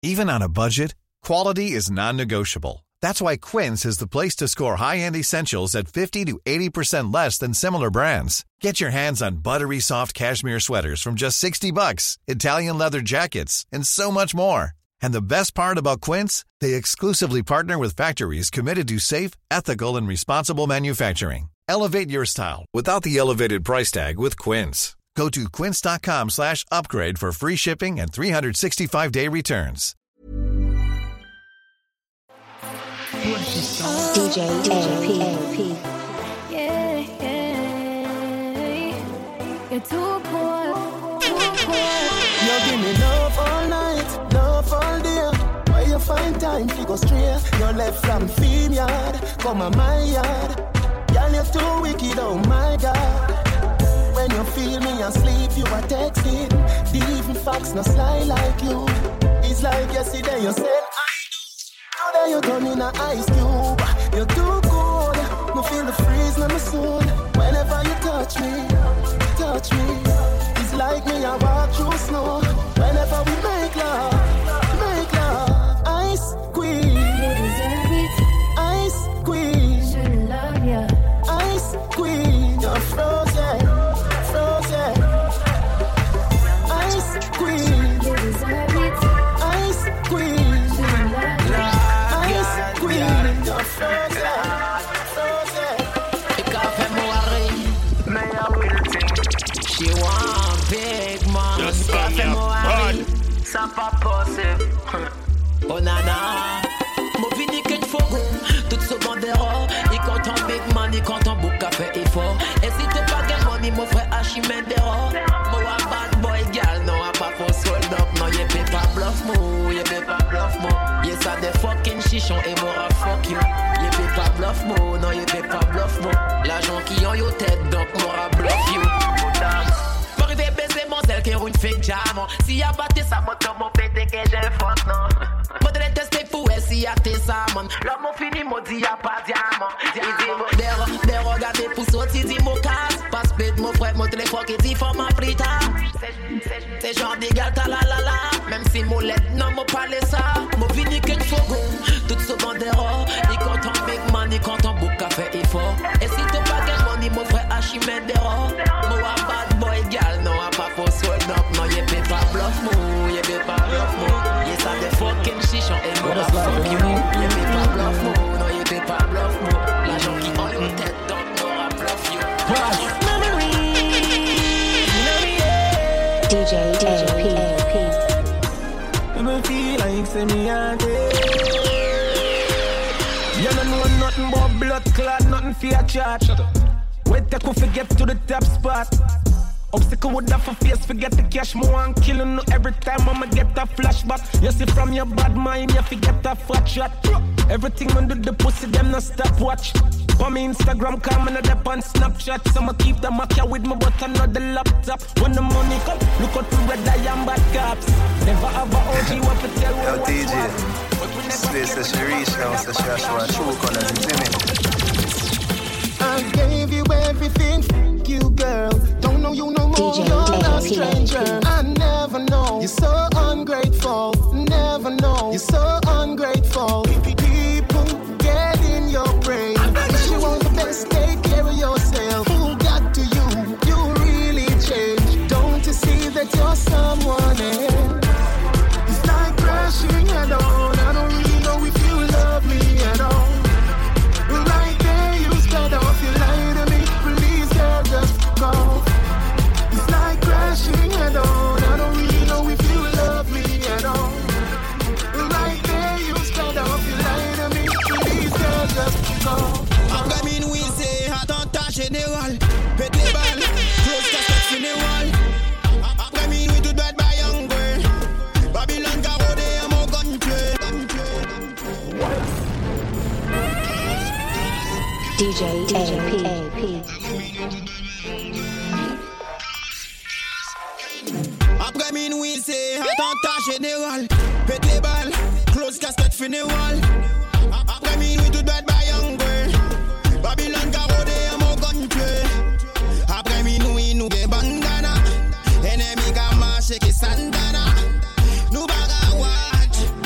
Even on a budget, quality is non-negotiable. That's why Quince is the place to score high-end essentials at 50 to 80% less than similar brands. Get your hands on buttery soft cashmere sweaters from just $60, Italian leather jackets, and so much more. And the best part about Quince, they exclusively partner with factories committed to safe, ethical, and responsible manufacturing. Elevate your style without the elevated price tag with Quince. Go to quince.com/upgrade for free shipping and 365-day returns. DJ AP. Yeah. You're too cool. You give me love all night, love all day. Where you find time to go straight? You left from theme yard, come on my yard. Girl, you're too wicked, oh my God. When you feel me asleep, you are texting. The even facts no sly like you. It's like yesterday you said I do. Today you turn in an ice cube. You're too cold. Me feel the freeze in my soul. Whenever you touch me. It's like me I walk through snow. Whenever we make love. Ice queen. You deserve it. Ice queen. Shouldn't love ya. Ice queen. You're frozen. Ice queen. You deserve it. Ice queen. Shouldn't love ya. Ice queen. You're frozen. She want big man. Just on your body. Ça pas possible. Oh nana. Mon vini qu'une fogo. Toute seconde erreur. Il compte en big man, il compte en book café et fort. Et si t'es pas gain money, mon frère Hachimène d'erreur. Moi bad boy gal, non a pas for sold up. Non y'a pas bluff mo, Y'a ça des fucking chichons et moi fuck you. Y'a pas bluff mo, non y'a pas bluff mo. L'agent qui en yo tête donc moi bluff you. M'arrive baiser mon zèle qui roule une fake jam. Si y'a batté sa moto, mon pété que j'ai fuck non. Moi de les tester pour essayer à tes salmons. L'homme mon fini, mon dit y'a pas diamant. Il dit des regarder pour sortir, dit mon casse. Pas speed, mon frère, mon téléphone qui dit faut m'appeler ta. C'est genre d'égal ta la. Même si mon lettre non m'a parlé ça. Mon vini qu'une fogo. Toute seconde d'erreur. Il compte en big man, il compte en book café et fort. Et si t'es pas gain money, mon frère Hachimène d'erreur. Moi bad boy gal, non a pas for sold up. Non y'a pas bluff mo, Y'a ça des fucking chichons et moi fuck you. Y'a pas bluff mo, non y'a pas bluff mo. L'agent qui en yo tête donc moi bluff you. DJ AP. Me feel like say me a dead. You don't know nothing but blood clot, nothing for your chat. Wait till we forget to the top spot. Obstacle with that for face, forget the cash. More and killing no every time I'ma get a flashback. You see from your bad mind, you forget a fat shot. Everything under the pussy, them not stop watch. On me Instagram, come and up on Snapchat. I'ma keep the Mac with me, but not the laptop. When the money come, look out for red eye and bad cops. Never have a OG what to tell Yo, DJ, this place is Sharish now, so Joshua, true colors, it's in it. I gave you everything, you girl. Don't know you no more, DJ you're a stranger. I never know, you're so ungrateful. Never know, you're so ungrateful. People get in your brain. You want the best, take care of yourself. Who got to you? You really changed. Don't you see that you're someone else? It's like crashing head on. I don't really know if you love me at all. Right there, you start off, you lie to me. Please, girl, just go. It's like crashing head on. I don't really know if you love me at all. Right there, you start off, you lie to me. Please, girl, just go. Après minuit, c'est attentat général. Pète les balles, close casquette funéral. Après minuit, tout doit être by young girl. Babylon garodé à mon gunplay. DJ AP. Après minuit, c'est attentat général. Pète les balles, close casquette funéral. Après minuit, tout doit être by young girl. Babylon garodé à mon gunplay. Après minuit, nous des bandana. Ennemi qui marche qui sandana. Nous baga watch.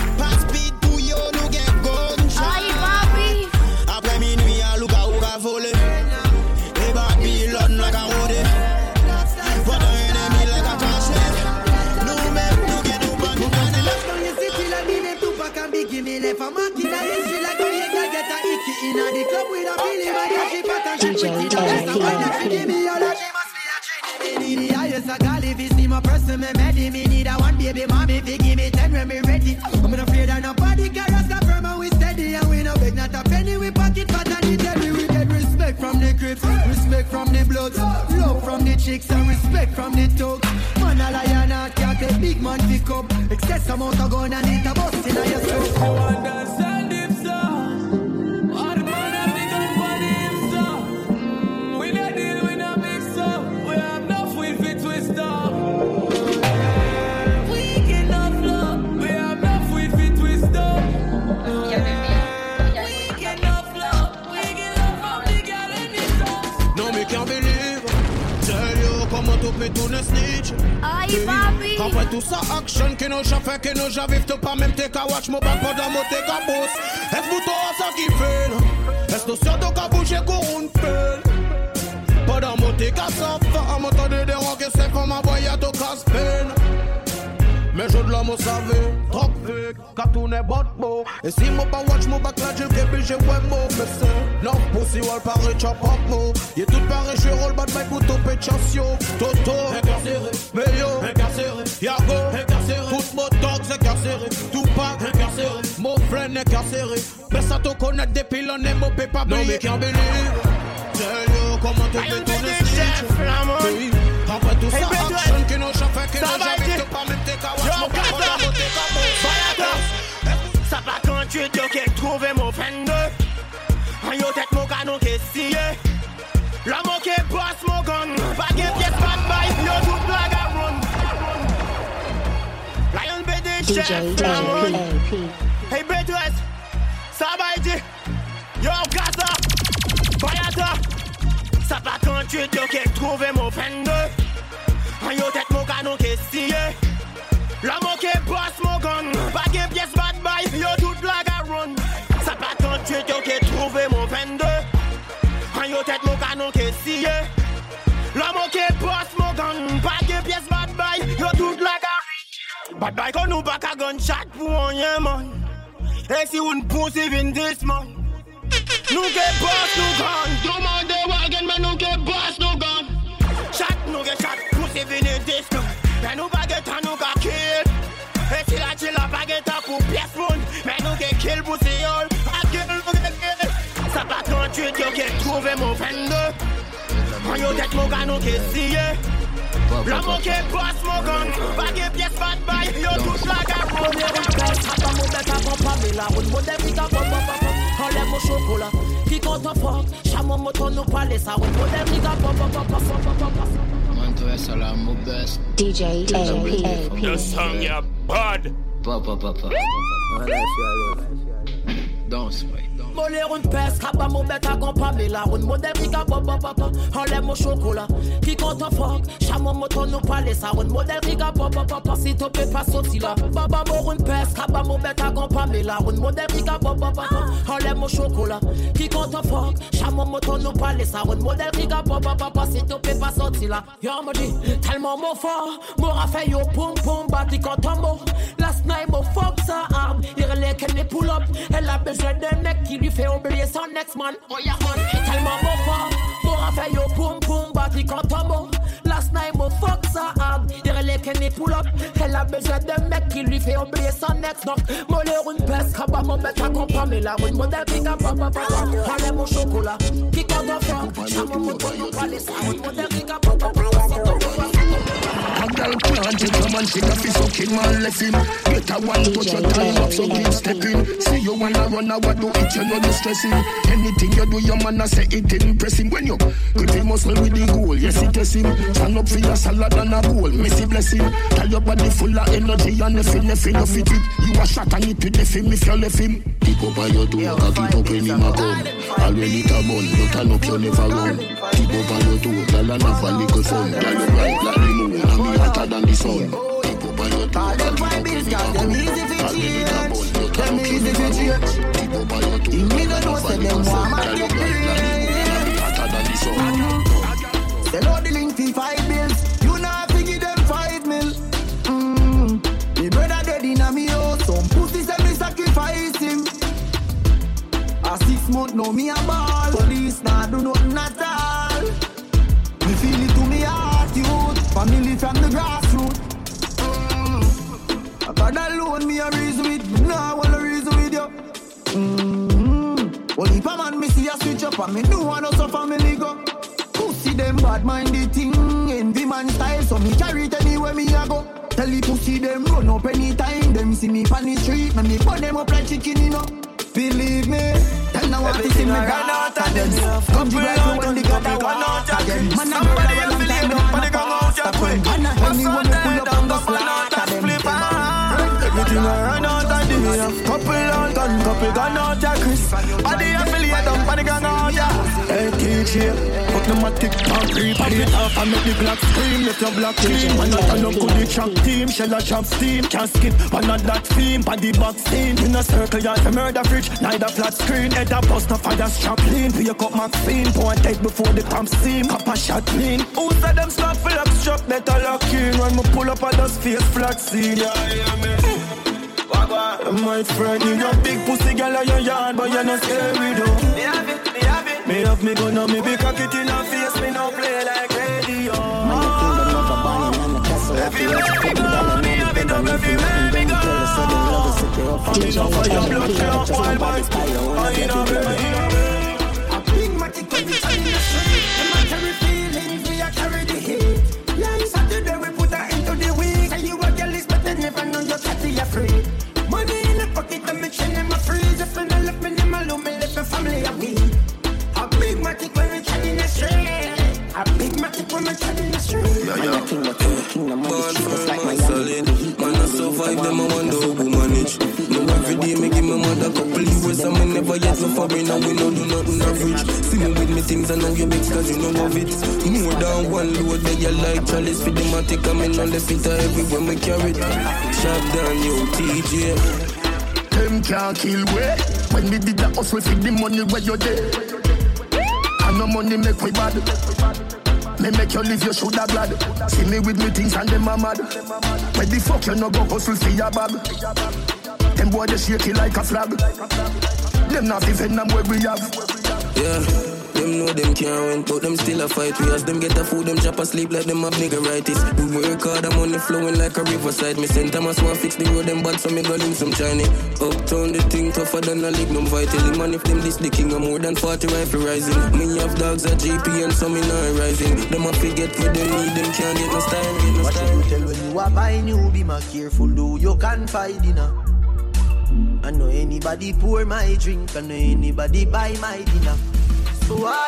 me left a mark in the history like a nigga get a icky in the club with a feeling like a she fat and she pretty. Just a wine that she give me all that she must be a trinity. Me need the highest a gal if you see my person me ready. Me need a one baby mommy if you give me 10 when me ready. I'm not afraid of nobody carrots got firm and we steady. And we no beg not a penny we pocket fat and the deadly. We get respect from the grips, respect from the bloods, love from the chicks and respect from the thugs. Man a lion and can't take big man pick up. Excess amount of gun and it a bust in your throat. You understand him, sir? All the man have the gun for the hip, sir. We no deal with no mix up. We have enough with it twist up. We get enough love. We have enough with it twist up. We get enough love. We get love from the girl in the house. No me can't believe. Tell you comment tu peux tourner snitch. Aïe, papi. Après tout ça, action qui nous fait, qui nous j'arrive tout pas même t'es qu'à watch mon bac pendant mon t'es qu'à boss. Est-ce que toi ça qui fait là? Est-ce que sur ton qu'à bouger qu'on une pelle? Pendant mon t'es qu'à ça, à m'entendre des rocs et c'est comme un voyage au casse-peine. Mais je de l'homme au savait, trop fake, car tout n'est pas beau. Et si mon pas watch mon bac là, j'ai qu'à j'ai ouais mot, mais c'est non, pussy wall pareil, chop up mo. Y'a tout pareil, je roll bad bike pour topper chassio. Toto, incarcéré, Meyo, incarcéré, Yago, incarcéré, tout mon dogs incarcéré, Tupac, incarcéré, mon friend incarcéré. Mais ça te connaît depuis l'année, mon pépa non mais can't believe. Tell you comment tu fais ton snitch. Après tout ça, action qui nous fait, qui nous j'avais tout pas même t'es qu'à watch mon bac pendant mon t'es qu'à boss. Ça pas quand tu te qu'est trouvé mon friend. En yo tête mon canon qui est scié. L'homme qui boss mon gun. Pas de pièce, pas de bail, yo tout blague à run. Lion BD chef, Flamon. Hey Betres, ça va être yo Gaza, Bayata. Ça pas quand tu te qu'est trouvé mon friend. En yo tête mon canon qui est scié. L'homme qui boss mon gun. Pas de pièce, pas de bail, yo tout blague à run. Ça pas quand tu te qu'est trouvé mon friend. En yo tête mon canon qui est scié. L'homme qui boss mon gun. Pas de pièce, pas de bail, yo tout blague à run. Bad bail qu'on nous pas qu'à gunshot pour rien man. Et si on pousse even this man. Nous qui boss nous gun. Tout le monde est wagon mais nous qui boss nous gun. Shot nous qui shot pousse even this man. Mais nous pas get nous qui kill. Et si la chill a pas get pour pièce pound. Mais nous qui kill pour c'est all. A kill nous qui kill. Ça pas 38 yo qui trouvé mon friend. En yo tête mon canon qui est scié. L'homme qui boss mon gun. Pas de pièce pas de bail. Yo tout la garde. Papa mon bête à compagnie la route modèle vite à papa enlève mon chocolat qui compte en fort chameau moto nous parler ça route modèle vite à papa Man to salam mon best DJ AP. The song ya bad. Papa Don't sway. Moller une peste, cabas mon bête à compagnie la route modèle vite à papa enlève mon chocolat qui compte en fort chameau moto nous parler ça route modèle vite à papa si tu peux pas sortir là baba mort une peste, cabas mon bête à compagnie la route modèle vite à papa enlève mon chocolat qui compte en fort chameau moto nous parler ça route modèle vite à papa si tu peux pas sortir là yo me dit tellement mon fort m'aura fait yo pom pom bati quand on mort last night mon fuck sa arme il relève qu'elle est pull up elle a besoin d'un mec qui lui fait oublier son next man. Oh yeah man, tellement mon fort. M'aura fait yo pom pom bati quand on mort. Last night mon fuck sa arme. Il relève qu'elle est pull up. Elle a besoin d'un mec qui lui fait oublier son next knock. Moller une peste, cabas mon bête à compagnie la route modèle qui n'a pas enlève mon chocolat. Qui quand on fort. Chameau moto nous parler ça route modèle qui n'a pas A girl can't take a man, she got fi sucking man left him. Get a one touch your time up, so keep stepping. See you wanna run a what do it, you know you stressing. Anything you do, your man a say it impressing. When you cut him muscle with the goal, yes it is him. Stand up for your salad and a bowl, messy blessing. Tell your body full of energy and nothing you fit it. You a shot and it with the film if you left him. Keep up on your toe, cock it up when him a come. Already it a bun, but turn up you never run. Keep up on your toe, girl and have a little fun. Girl you bright like the moon, and me hotter than the sun. Keep up on your toe, cock it up when him a come. Already it a bun, but turn up you never run. Keep up on your toe, girl and have a little fun. Girl you bright like the moon, and me hotter than the sun. They load the link for 5 bills. You not figure them 5 mil. Me brother dead in a me house. Some pussy say me sacrifice him. know me a ball. Police nah do nothing at all. Me feel it to me heart, youth. Family from the grassroots. God alone me a reason with. Nah, I wanna reason with you. Well, if a man me see a switch up and me do want to suffer me go. Pussy them bad minded thing, envy man style, so me carry it anywhere me a go. Tell the pussy them run up anytime, them see me on the street, me put them up like chicken, you know. Believe me, tell now what to see me run out of them. Come to right when they got that one out again. Man, I'm ready to feel them, but they gon' out your quick. And anyone who pull up on the slaughter them. Everything I run out of the couple on gun, couple gun out ya Chris. Body affiliate up, body gun out ya. Hey TJ, put the matic on creep. Body it off and make the black scream. Let your black clean. Man, not enough good the track team. Shell a drop steam, can't skip. One of that theme, body box scene. In a circle, yard the murder fridge. Neither flat screen, head a bust a fire strap lean. Pick up Maxine, point head before the pump steam. Cup a shot clean. Who said them stop for lock struck? Better lock in. When me pull up a dust face flat scene. Yeah, me. My friend, you got big pussy girl on your yard, but you're not scary though. Me have it. Me have me gun on me big cock it in her face, me no play like radio. Everywhere we go, me have it up everywhere we go. I'm in a fire, blood clot, wild boys. I bring my tick when we turn in the street. The man carry feelings, we a carry the heat. Last Saturday we put her into the week. Say you a girl is but they never know you're catty afraid. Money in the pocket, I'm mixing in my freezer. If I left me in my room, me left my family a week. A big matic when we turn in the street. A big matic when we turn in the street. Born firm and solid. Man, I survive them, I wonder who manage. No, every day me give my mother couple years and me never yet so foreign and we no do nothing average. See me with me things and now you big cause you know of it. More than one load that you like chalice for the matic and me no left it everywhere me carry it. Shot down you TJ. Them can't kill way. When we did that hustle for the money where you there. And no money make we bad. Me make you live your shoulder blood. See me with me things and them are mad. Where the fuck you no go hustle for your bag? Them boy they shake it like a flag. Them not even them where we have. Yeah. Them know them can't win, but them still a fight. We as them get a food, them chop a sleep like them have niggeritis. We work hard, the money flowing like a riverside. Me send Thomas want fix the road, them bad, so me got him some Chinese. Uptown, the thing tougher than a lignum vital. Man, if them this the king, I'm more than 40 rifle rising. Me have dogs at GP and some in not rising. Them a forget what they need, them can't get no style. What you tell when you are buying, you be more careful, though you can't find dinner. I know anybody pour my drink, I know anybody buy my dinner. So what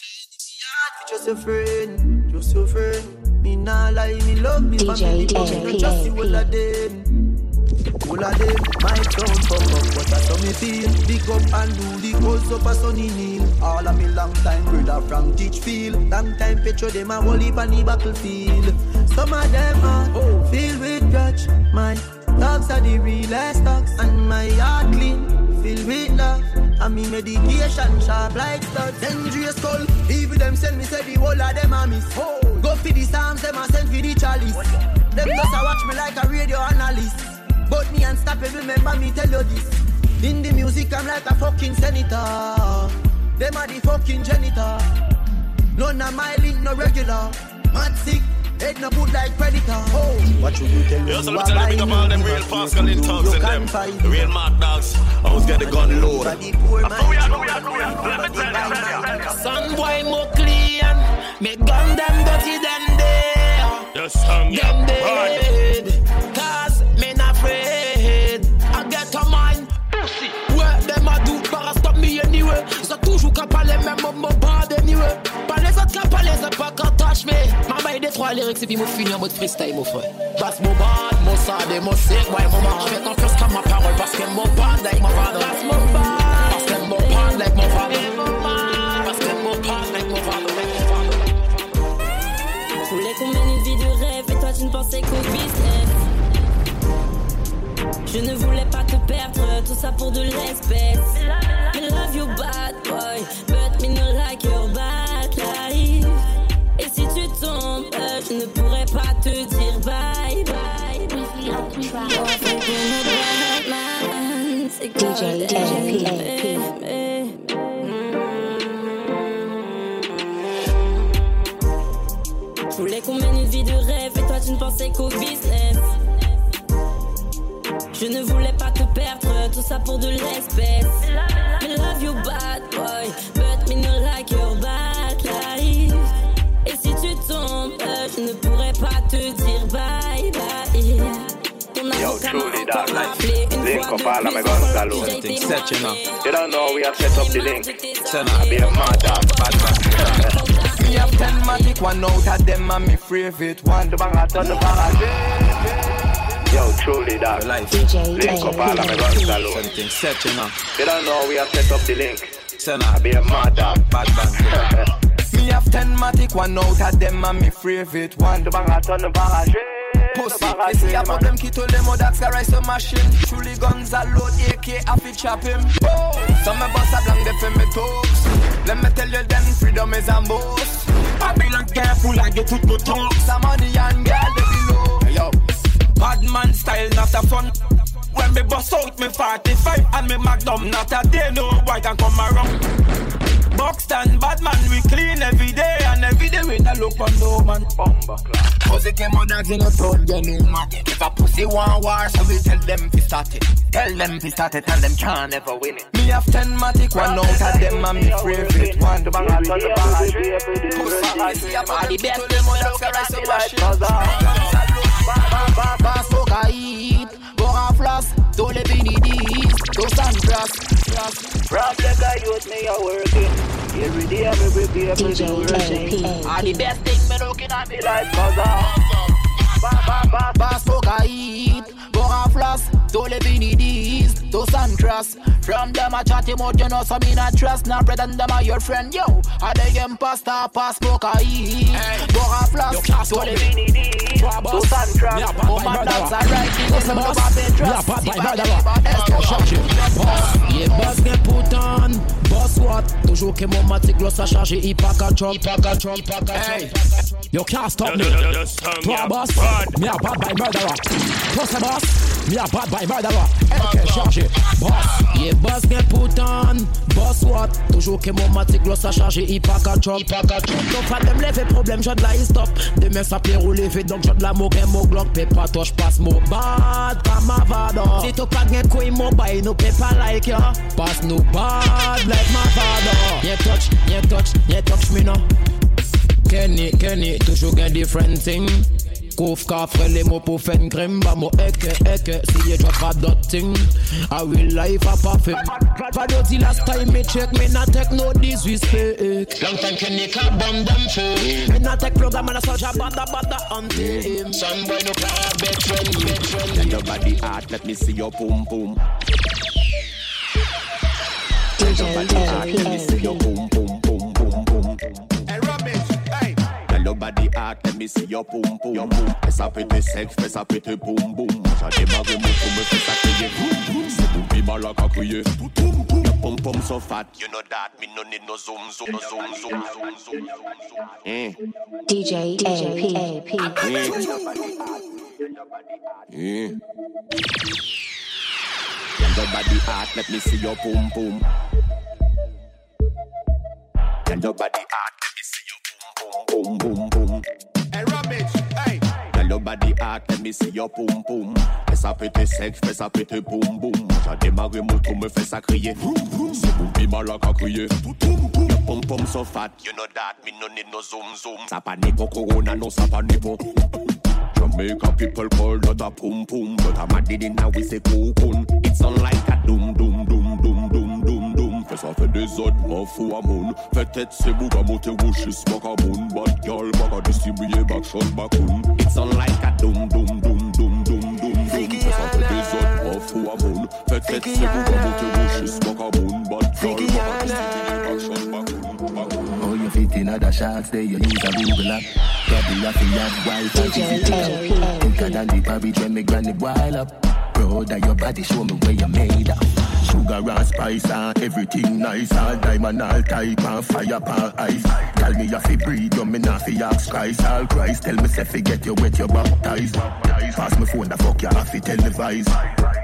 just a friend, just a friend. Me nah lie, me love me family, but me no just see all of them. All of them, my town fuck up, but that's how me feel. Big up and do the cause up a sunny kneel. All of me long time brother from Teachfield. Long time petro them a whole heap on the battlefield. Some of them are filled with grudge. My dogs are the realest dogs, and my heart clean, filled with love. And me medication sharp like studs. Dangerous skull, even them send me say the whole of them a miss. Go for the Psalms, them a send for the chalice. Them just a watch me like a radio analyst. But me unstoppable, remember me tell you this. In the music I'm like a fucking senator. Them are the fucking janitor. None of my link no regular. Mad sick, head no good like predator. What you tell me? You also tell me big up all them real Pascal in thugs and them the real mad dogs. I was get the gun load. Let me tell you. Son boy more clean. Me gun them dirty than they. Yes, them dead. Cause me not afraid. I get a mind. Pussy. Ouais, them a do para stop me anyway. Ça toujours qu'à parler même mon bad anyway. Pas les autres qu'à parler, c'est pas qu'à touch me. Maman il détruit les lyrics et puis moi fini en mode freestyle mon frère. That's mon bad, mon sad et mon sick. Ouais, mon marche fait confiance comme ma parole parce que mon bad like mon father. That's mon bad. Parce que mon bad like mon father. Parce que mon bad like mon father. Je voulais qu'on mène une vie de rêve et toi tu ne pensais qu'au business. Je ne voulais pas te perdre, tout ça pour de l'espèce. I love you bad boy, but me not like your bad life. Et si tu tombes, je ne pourrais pas te dire bye bye. DJ LP. tu ne pensais qu'au business. Je ne voulais pas te perdre, tout ça pour de l'espèce. I love you bad boy, but me not like your bad life. Et si tu tombes, je ne pourrais pas te dire bye bye. Yo, truly that link up all of my guns alone. Set, you know. You don't know we have set up the link. So now be a mad bad man. Me have 10 matic, one out of them and me favorite one. The bang out on the bang. Yo, truly that link up all of my guns alone. Set, you know. You don't know we have set up the link. So now be a mad bad man. Me have 10 matic, one out of them and me favorite one. The bang out on the bang. Pussy, you see about them key to them, that's a rise of machine. Truly guns are load, AK, I fi chop him. Oh, some of us are blank, they fi me talks. Let me tell you then, freedom is a boss. I be like careful, I get to talk. Some money and girl, they below. Yo, bad man style, not a fun. When me bust out me 45 and me magnum, not a day no boy can come around. Boxed and bad man, we clean every day, and every day we not look on no man. Pussy came on dogs in a town, you know man. If a pussy want war, so we tell them fi start it. Tell them fi start it, and them can't ever win it. Me have 10 matic, one out of them and me favorite one. The bang out on the bang. Pussy, see about the best, them on dogs a rise of machine. Pass for guide, go and floss, don't let me need these, don't stand cross. From the guy youth me a working. Every day I'm every day I'm rushing. And the best thing me looking at me like Pass for guide, go and floss, don't let me need these, don't stand cross. From them a chat him out, you know, so me not trust. Now bread and them are your friend, yo. I beg him pasta, pass for guide, go and floss, don't let me need these, don't stand cross. Oh man, that's a right thing, you know, yeah, boss get put on. Boss what? Toujours que mon matic gloss a chargé, il pas qu'à chop. Hey, you can't stop me. Toi boss, me a bad by murderer. Toi c'est boss, me a bad by murderer. LK chargé, boss. Yeah, boss get put on. Boss what? Toujours que mon matic gloss a chargé, il pas qu'à chop. Donc pas de me lever problème, j'ai de la stop. Demain ça peut rouler, fait donc j'ai de la moque, mon glock, paie pas touche, passe mon bad, pas ma vada. Si t'as pas de quoi, mon bail, nous paie pas like ya. Passe nous bad, like my father. Yeah touch me now. Kenny, toujours get different thing. Couf coffre les mots pour faire une crème. Bah moi eke, si you drop a dot thing. I will life a parfait. Fado the last time me check, me not take no disrespect. Long time Kenny can't bomb them fool. Me not take program and a soldier bada on him. Some boy no car, bed friend. Let your body hard, let me see your boom boom. Let your body hard, let me see your boom boom boom boom boom. Hey rubbish, hey. Let your body hard, let me see your boom boom boom. Fais ça péter sexe, fais ça péter boom boom. J'ai démarré mon pour me faire ça crier. C'est pour bien mal à crier. Your pom pom so fat, you know that. Me no need no zoom. DJ AP. Let your body hard, let me see your boom boom. Let your body hard, let me see your boom boom. Hey rubbish, hey. Let your body hard, let me see your boom boom. Fais ça péter sexe, fais ça péter boom boom. J'ai démarré mon tour, me fais ça crier. C'est pour bien mal à crier. Your pom pom so fat, you know that. Me no need no zoom. Ça pas ni pour corona, non ça pas ni pour. Jamaica people call that a pum pum, but I'm a did it now we say cocoon. It's on like a doom. Fais ça fait des autres, m'en fous à mon. Fais tête c'est bouga monter rouge, smoke à mon. Bad girl, baga distribuer back shot bacoon. It's on like a doom. Fais ça fait des autres, m'en fous à mon. Fais tête c'est bouga monter rouge, smoke à mon. Bad girl, baga distribuer back shot bacoon. Oh, you fit in other shots, there you use a Google app. Probably have to have wife. Thicker than the porridge when me granny boil up. Proud of your body, show me where you made up. Sugar and spice and everything nice. All diamond, all type and fire pan ice. Tell me you fi breathe, you me not fi ask Christ. All Christ, tell me say fi get you wet, you baptized. Pass me phone, the fuck you have fi televise.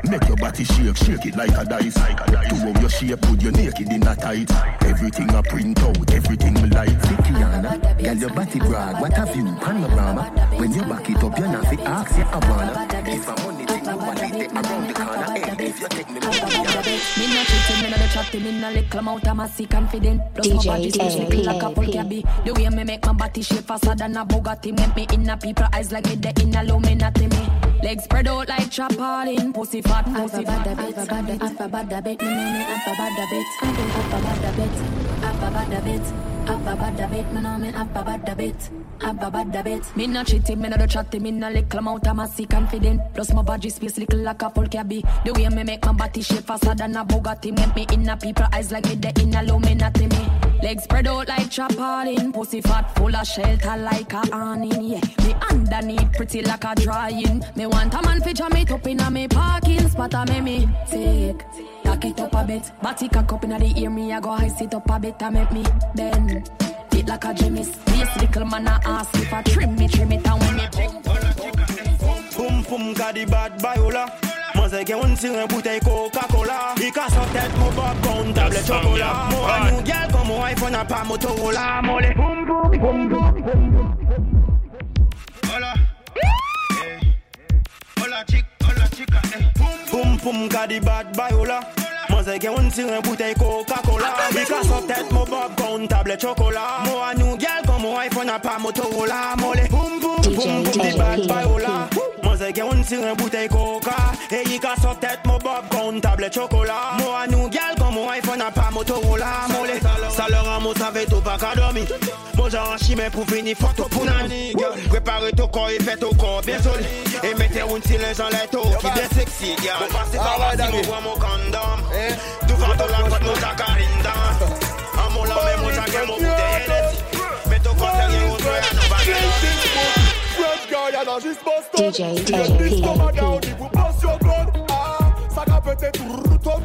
Make your body shake it like a dice. To how your shape, put your naked in a tight. Everything I print out, everything me like. Kiana, girl your body brag, what have you, panorama? When you back it up, you're not fit, ask you Havana. If I'm on the thing, nobody take around the corner. Hey, if you take me, me not cheating, me not the chatting, me not little amount of massy confident. Plus my body shape like a full cabby. The way me make my body shape faster than a Bugatti. Make me in a people eyes like me the in a Illuminati me. Legs spread out like chapalin, pussy fat, pussy fat. Have a bad bit, have a bad bit, me know me have a bad bit. I do have a bad bit, have a bad bit. Have a bad bit, me know me have a bad bit. Have a bad bit. Me not cheating, me not the chatting, me not little amount of massy confident. Plus my body space little like a full cabby. The way me make my body shape faster than a Bugatti. Make me in a people eyes like me the in a Illuminati me. Legs spread out like chapalin, pussy fat full of shelter like a awning. Yeah, me underneath pretty like a drying. Me want a man feature me top in a me parking spot. A me take. Cock it up a bit, body cock up inna the ear. Me I go high sit up a bit and make me bend. Fit like a gymnast. This little man a ask if I trim it and when me Boum boum gadi bad bayola. Moi c'est que on tire une bouteille Coca-Cola. Il casse en tête mon popcorn, tablette chocolat. Moi un new girl comme mon iPhone n'a pas Motorola. Mollet boum boum boum boum boum. Hola, hola chica, boum boum gadi bad bayola. Moi c'est que on tire une bouteille Coca-Cola. Il casse en tête mon popcorn, tablette chocolat. Moi un new girl comme mon iPhone n'a pas Motorola. Mollet boum boum boum boum di bad bayola. Moi c'est que on tire une bouteille Coca. Et il casse en tête mon popcorn, tablette chocolat. Moi un new girl comme mon iPhone n'a pas Motorola. Mollet ça leur a mon savait tout pas qu'à dormir. Moi j'en chimé pour finir photo pour nani. Préparez ton corps et faites ton corps bien solide. Et mettez une silence en l'air qui bien sexy. Vous passez par là si vous voyez mon condom. Tout va dans la côte mon sacarine. À mon la même mon sac mon bouteille. Mais ton corps c'est rien autre à nos bagages. DJ ça va peut-être tout tom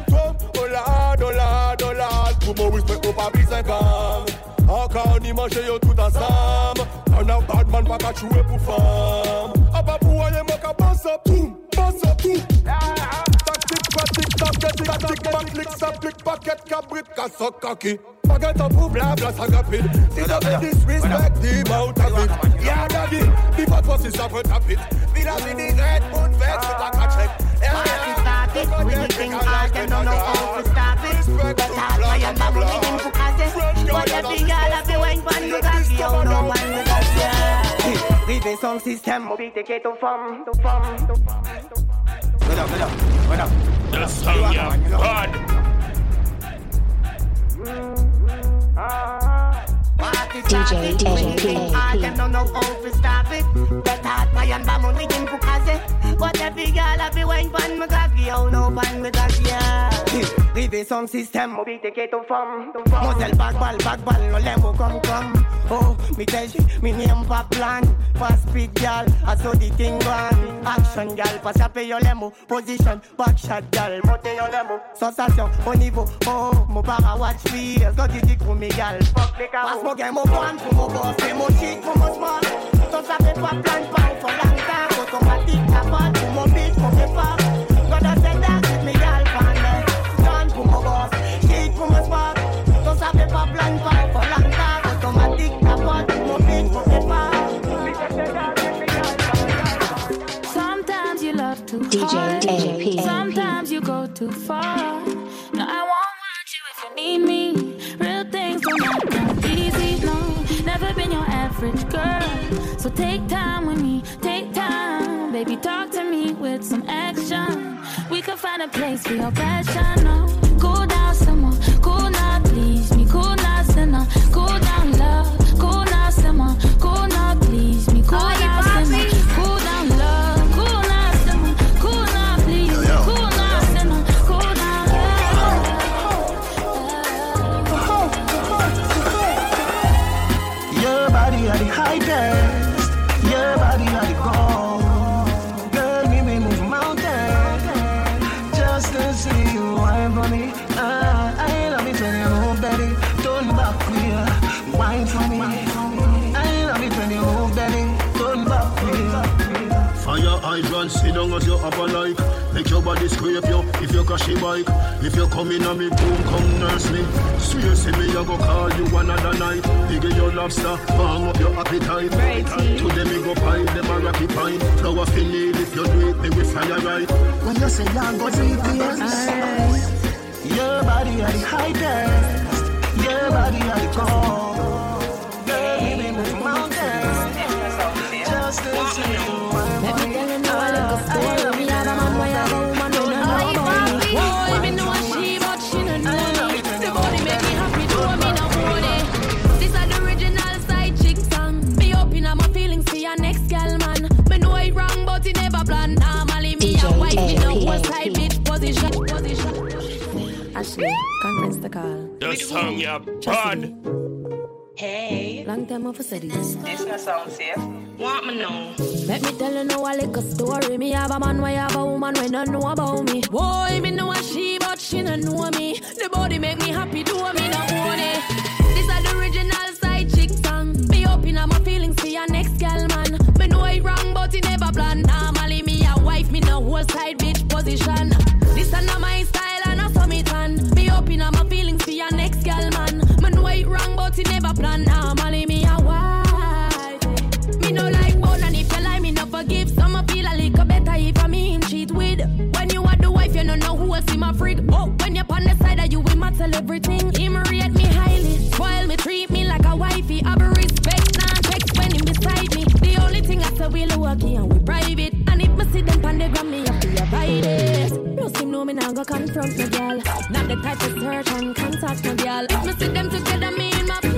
dollar pour mon respect au pas 5 ans. Encore on y mange yo tout ensemble. On a bad man pas qu'à jouer pour femme. Ah pas pour aller moi qu'à passer tout. Tactique pratique tactique ça clique paquet cabrit casse kaki. Forget pour blabla ça rapide. Si ça fait disrespect the mouth of it. Yeah daddy, the bad boss is up with a bit. Villa mini red moon vex with a check. Stop it, we think hard, them don't know how to stop it. But hard, I am not moving to cause it. But every girl have been waiting for you, got you, no one will got you. Rive son système, mobile te quitte aux femmes. What up? That's how you hard. DJ them don't know how to stop it. But hard, I am not moving to cause it. But every girl have been waiting for me, got you, no one will got you. Rive son système, mobile te quitte aux femmes. Moselle backball, no level come. Oh, me tell you, me name pa plan. Fast speed gal, I saw the thing gone. Action gal, pass up your lemo. Position, back shot gal, monte your lemo. Sensation, au niveau, oh, mon para watch videos. Got the dick for me gal, fuck les carreaux. Passe mon game, mon plan, pour mon boss, c'est mon chic, pour mon smart. Ton savait pas plan, pas for long time. Automatique, ta part, pour mon beat, mon départ. Gotta say that, me gal, fan. Plan pour mon boss, chic pour mon smart. Ton savait pas plan, pas for long time. Automatique, ta part, pour mon beat, mon départ. Sometimes you love too hard. Sometimes you go too far. No, I won't want you if you need me. Real things don't come easy, no. Never been your average girl. So take time with me, take time. Baby, talk to me with some action. We could find a place for your passion, no. Cool down some more, cool now, please me. Cool now, sinner, cool down, love. Cool now, simmer, cool now, please me. Cool now, simmer, cool down, love. Cool now, simmer, cool now, please me. Cool now, sinner, cool down, love. Your body at the highest, your body at the goal. Girl, me move mountains just to see you wine for me. I love it when you move, baby. Turn back here, wine for me. I love it when you move, baby. Turn back here. Fire hydrant, sit down as you have a like. Make make your body scrape you. If you crash your bike, if you come in on me, boom, come nurse me. Swear see me, I go call you another night. Big your lobster, warm up your appetite. To them me go pine, them a rocky pine. Flower feel if you do it, me will fire right. When you say young, go deep, your body are the highest. Your body are the core. Girl, you may move mountains. Just to see you. Let me tell you now a little story. Me have a man, why have a woman, don't know about me. Boy, me know she, but she don't know me. The body make me happy, do me no money. This is the original side chick song. Me open up my feelings for your next girl, man. Me know it wrong, but it never plan. Normally me a wife, me no one side bitch position. Ashley, conference the call. Just hung your bud. Hey. Long time I've said this. This not sound safe. Want me know? Let me tell you now a little story. Me have a man, why have a woman when don't know about me. Boy, me know a she, but she don't know me. The body make me happy, do me no money. This is the original side chick song. Me open up my feelings for your next girl, man. Me know it wrong, but it never plan. Normally me a wife, me no whole side bitch position. This is not my style and I saw me tan. Me open up my feelings for your next girl, man. Me know it wrong, but it never plan. Normally me a wife. Me no like bone, and if you lie, me no forgive. Some I feel a little better if I me him cheat with. When you are the wife, you don't know who else in my freak. Oh, when you're on the side of you, we might tell everything. Him rate me highly, spoil me, treat me like a wifey. I be respect, nah text when him beside me. The only thing I say we lucky and we private. And if me see them on the ground, me have to avoid it. No seem no me now go confront me girl. Not the type of search and contact me girl. If me see them together, me in my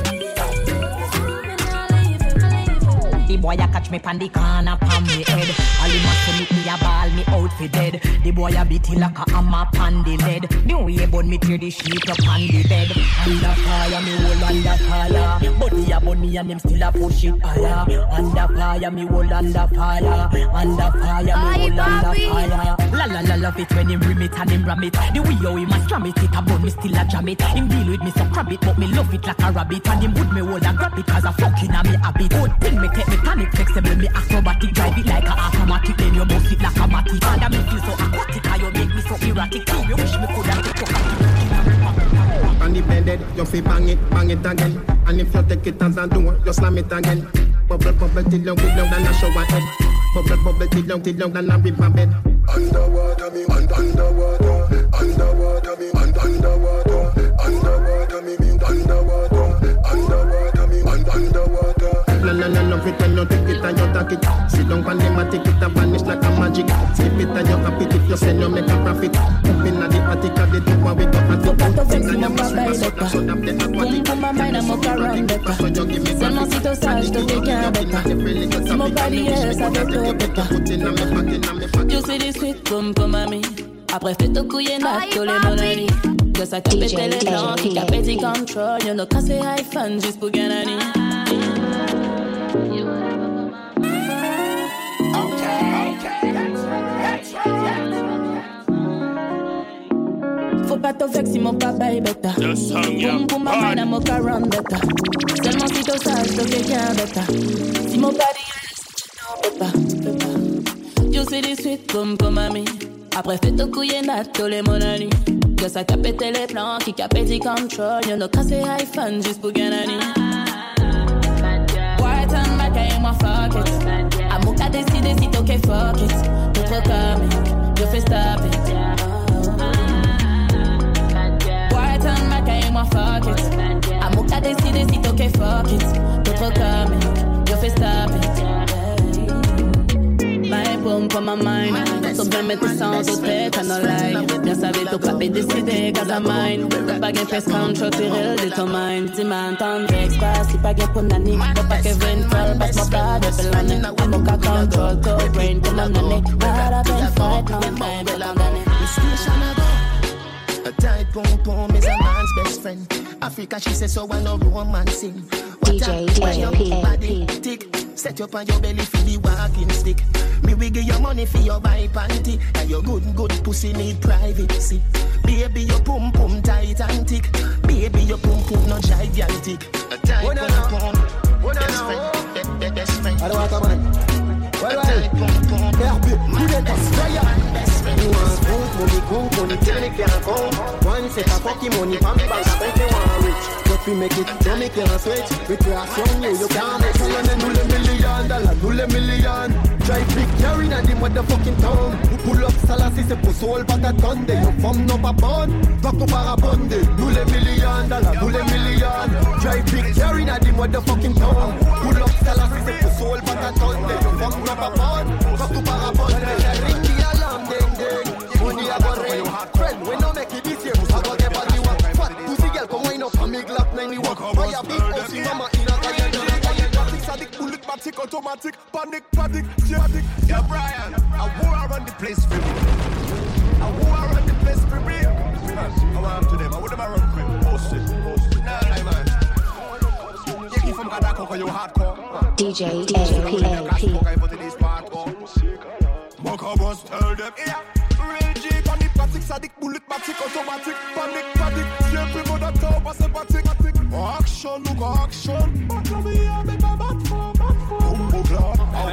the boy a catch me pan the corner pan me head. All him must make me a ball me out for dead. The boy a beat it like a hammer pan the lead. The way bun me tear the sheet up on the bed. Under fire me hold under fire. But he a bun me and him still a push it higher. Under fire me hold under fire. Under fire me hold under fire. La la la love it when him rim it and him ram it. The way how him a stram it a bun me still a jam it. Him deal with me so crab it but me love it like a rabbit. And him would me hold and grab it cause a fucking a me habit. Good thing me take me panic flexible, me acrobatic, drive it like a automatic, then you move it like a matic. And me feel so aquatic, and you make me so erratic. Too, you wish me could have took on the bed, you feel bang it again. And if you take it as a door, you slam it again. Bubble, bubble, till long than a shower head. Bubble, bubble, till long than a river bed. Underwater, me, underwater. Underwater, me, underwater. Underwater, me, underwater. Underwater, me, underwater. No, love it when you take it and you take it. Sit down and them a take it and vanish like a magic. Slip it and you happy if you sell you make a profit. Up in the attic of the top and we got a top. Things and you must be so that the aquatic. Boom, my mind, I'm up around better. Seulement si t'es sage, te dégain better. Si mon body est, ça fait tout better. You see this sweet boom pour mamie. Après fais tout couiller n'a tous les mon ami. Que ça capte les plans, qui capte tes contrôle. Y'en a cassé iPhone juste pour gagner. Faut pas te vexer si mon papa est bêta. Boum boum ma mind I'm up around better. Seulement si t'es sage, t'es quelqu'un bêta. Si mon body est pas. You see this sweet boom pour mamie. Après fais tout couiller n'a tous les mon ami. Que ça capte les plans, qui capte tes contrôle. Y'en a cassé iPhone juste pour gagner. White and black I my fuck it. Amour qu'a décidé si t'es ok fuck it. T'es trop comme, je fais stop it. White and black I my fuck it. Amour qu'a décidé si t'es ok fuck it. T'es trop comme, je fais stop it. My boom for my mind. So bien mettre ça en tête, à no lie. Bien savais t'as pas décidé, cause I'm mine. T'as pas gain face control, t'es real de ton mind. Si m'entends, j'expasse, si pas gain pour nani. T'as pas que 20 passe mon tas de pelane. I'm okay control, to brain, comme un nani. Not up and fight, no time, but I'm done. A tight pom pom is a man's best friend. Africa, she says so I know romancing. DJ body tick. Set up on your belly for the walking stick. Me will give your money for your buy panty. And your good pussy need privacy. Baby, your pum pum tight and thick. Baby, your pum pum no gigantic. A tight pum pum best friend. I don't want to man. Well, best friend. cook, money till me can't come. One set of fucking money from me bank, I bet me want rich. But we make it, so me can't switch. With your son, you can't make it. And $1 million. Drive big carry na the motherfucking town. Pull up Salassi, c'est pour soul pas t'attendre. Yo femme non pas bonne, va qu'on parabonde. $1 million, $1 million. Drive big carry na the motherfucking town. Pull up Salassi, c'est pour soul pas t'attendre. Yo femme non pas bonne, va qu'on parabonde. Ring the alarm, ding ding. Money I got ring. Friend, we no make it this year. I got the body one. Fat pussy girl come wind up and me Glock 91. Fire big house in mama in a kaya. Sadiq bullet matic automatic. Panic, yeah, Brian. I war around the place for me. I want to them. I would never run quick. Post it. Nah, man. You keep from Gadako for your hardcore. DJ AP. Mocha boss, tell them, yeah. Real G, panic, matic, Sadiq bullet matic automatic. Panic, yeah, people that talk, what's a matic. Action, look action. But love me, I make a bad for. Bumbo clad.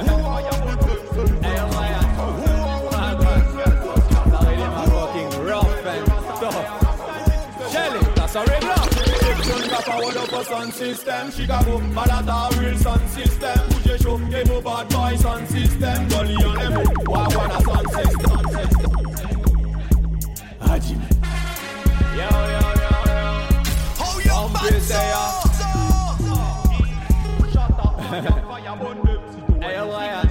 Sound system, Chicago, Malata, real sound system. Push show, game over bad boy sound system. Dolly on them, walk on a sound system. Hajime. Yo. How you back so? Shut up. Hey, Ryan.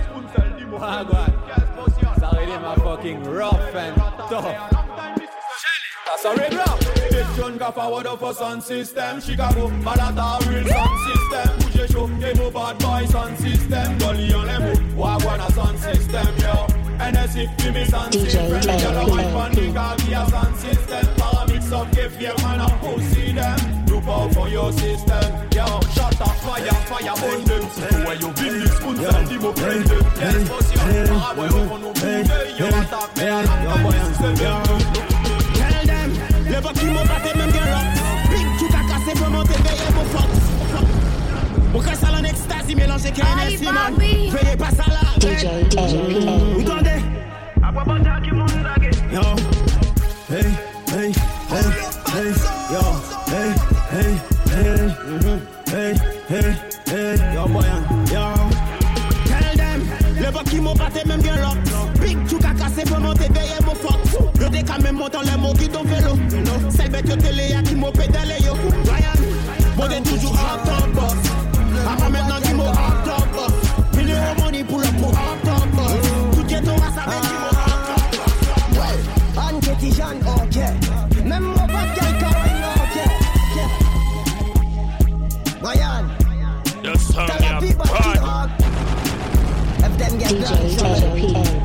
Sorry, them are fucking rough and tough. That's a regular. Big John got forward up for sound system. Chicago, Malata, real sound system. Push show, game over bad boy sound system. Dolly on them, walk on a sound system, yo. NSC, give me sound system. Yellow white panic, I'll be a sound system. Paramix up, give your man a pussy them. Look out for your system, yo. Shut up, fire, burn them. Where you build this spoon, send him up, bring them. Yes, boss, you have to you attack me, and I'm system, yo. Le bas qui m'a batté même bien là. Big tout a cassé pour monter veiller mon fuck. Mon casse à l'en ecstasy mélangé KNS man. Veillez pas ça là. DJ AP. Vous entendez? À quoi bon dire que mon zague? Yo. Hey. Yo. Hey. Yo boy. Yo. Tell them. Le bas qui m'a batté même bien là. Big tout a cassé pour monter veiller mon fuck. Yo t'es quand même montant les mots qui t'ont vélo. Celle bête yo télé à qui m'a pédalé yo. Ryan, bon t'es toujours en top boss. Après maintenant qui m'a en top boss. Million de money pour le pour en top boss. Tout qui est ton race avec qui m'a en top boss. Ouais, Anne Ketty Jeanne, ok. Même mon pote quelqu'un, ok. Ryan, t'as la vie pas qui rock. If them get DJ AP.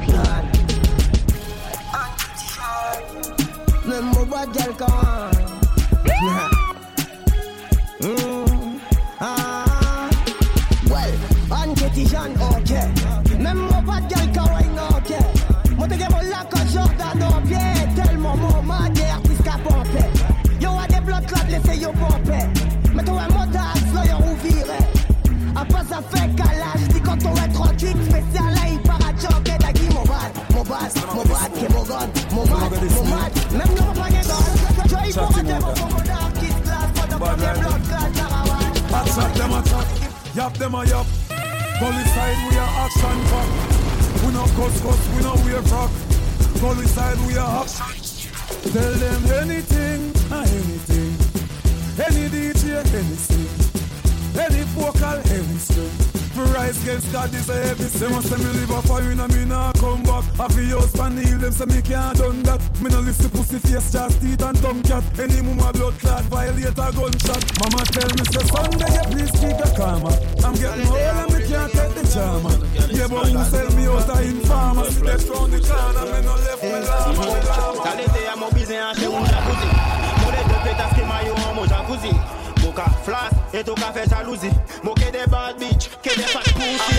Même mon bois de quelqu'un. Ouais, Anne Ketty Jeanne, ok. Même mon bois de quelqu'un, ok. Moi te gagne mon lac en Jordan, ok. Tellement mon mad, des artistes qui pompent. Yo a des blocs là, laissez yo pomper. Mais toi un montage, là yo ouviré. Après ça fait calage, dis quand on est 38, spécial là, il part à choquer. T'as qui mon bad, qui est mon god, mon mad. Même non pas les gars, il faut rater mon commandant qui se classe, pas de premier bloc, classe, caravane. Attack them, yap them a yap. Police side, we are action fuck. We no cuss, we no wear rock. Police side, we are action. Tell them anything, any DJ, anything. Any vocal, any string. For rise against God is a heavy sin. They must say me live a fire and me nah come back. I feel your span heal them so me can't done that. Me no listen pussy face, just teeth and tongue cat. Any mama blood clot, violate a gunshot. Mama tell me say Sunday you please keep your karma. I'm getting old and me can't take the charmer. Yeah but who sell me out a informer? See that round the corner, me no left me lama. T'allais à mon baiser un chez un jacuzzi. Mon les deux pétasses qui maillot en mon jacuzzi. Moka flash et tout café jalousie. Moquer des bad bitch, que des fat pussy.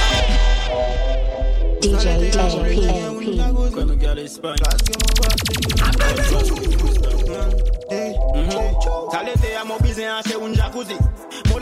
DJ AP. Quando quer Espanha. T'allais à mon baiser un chez un jacuzzi. Mon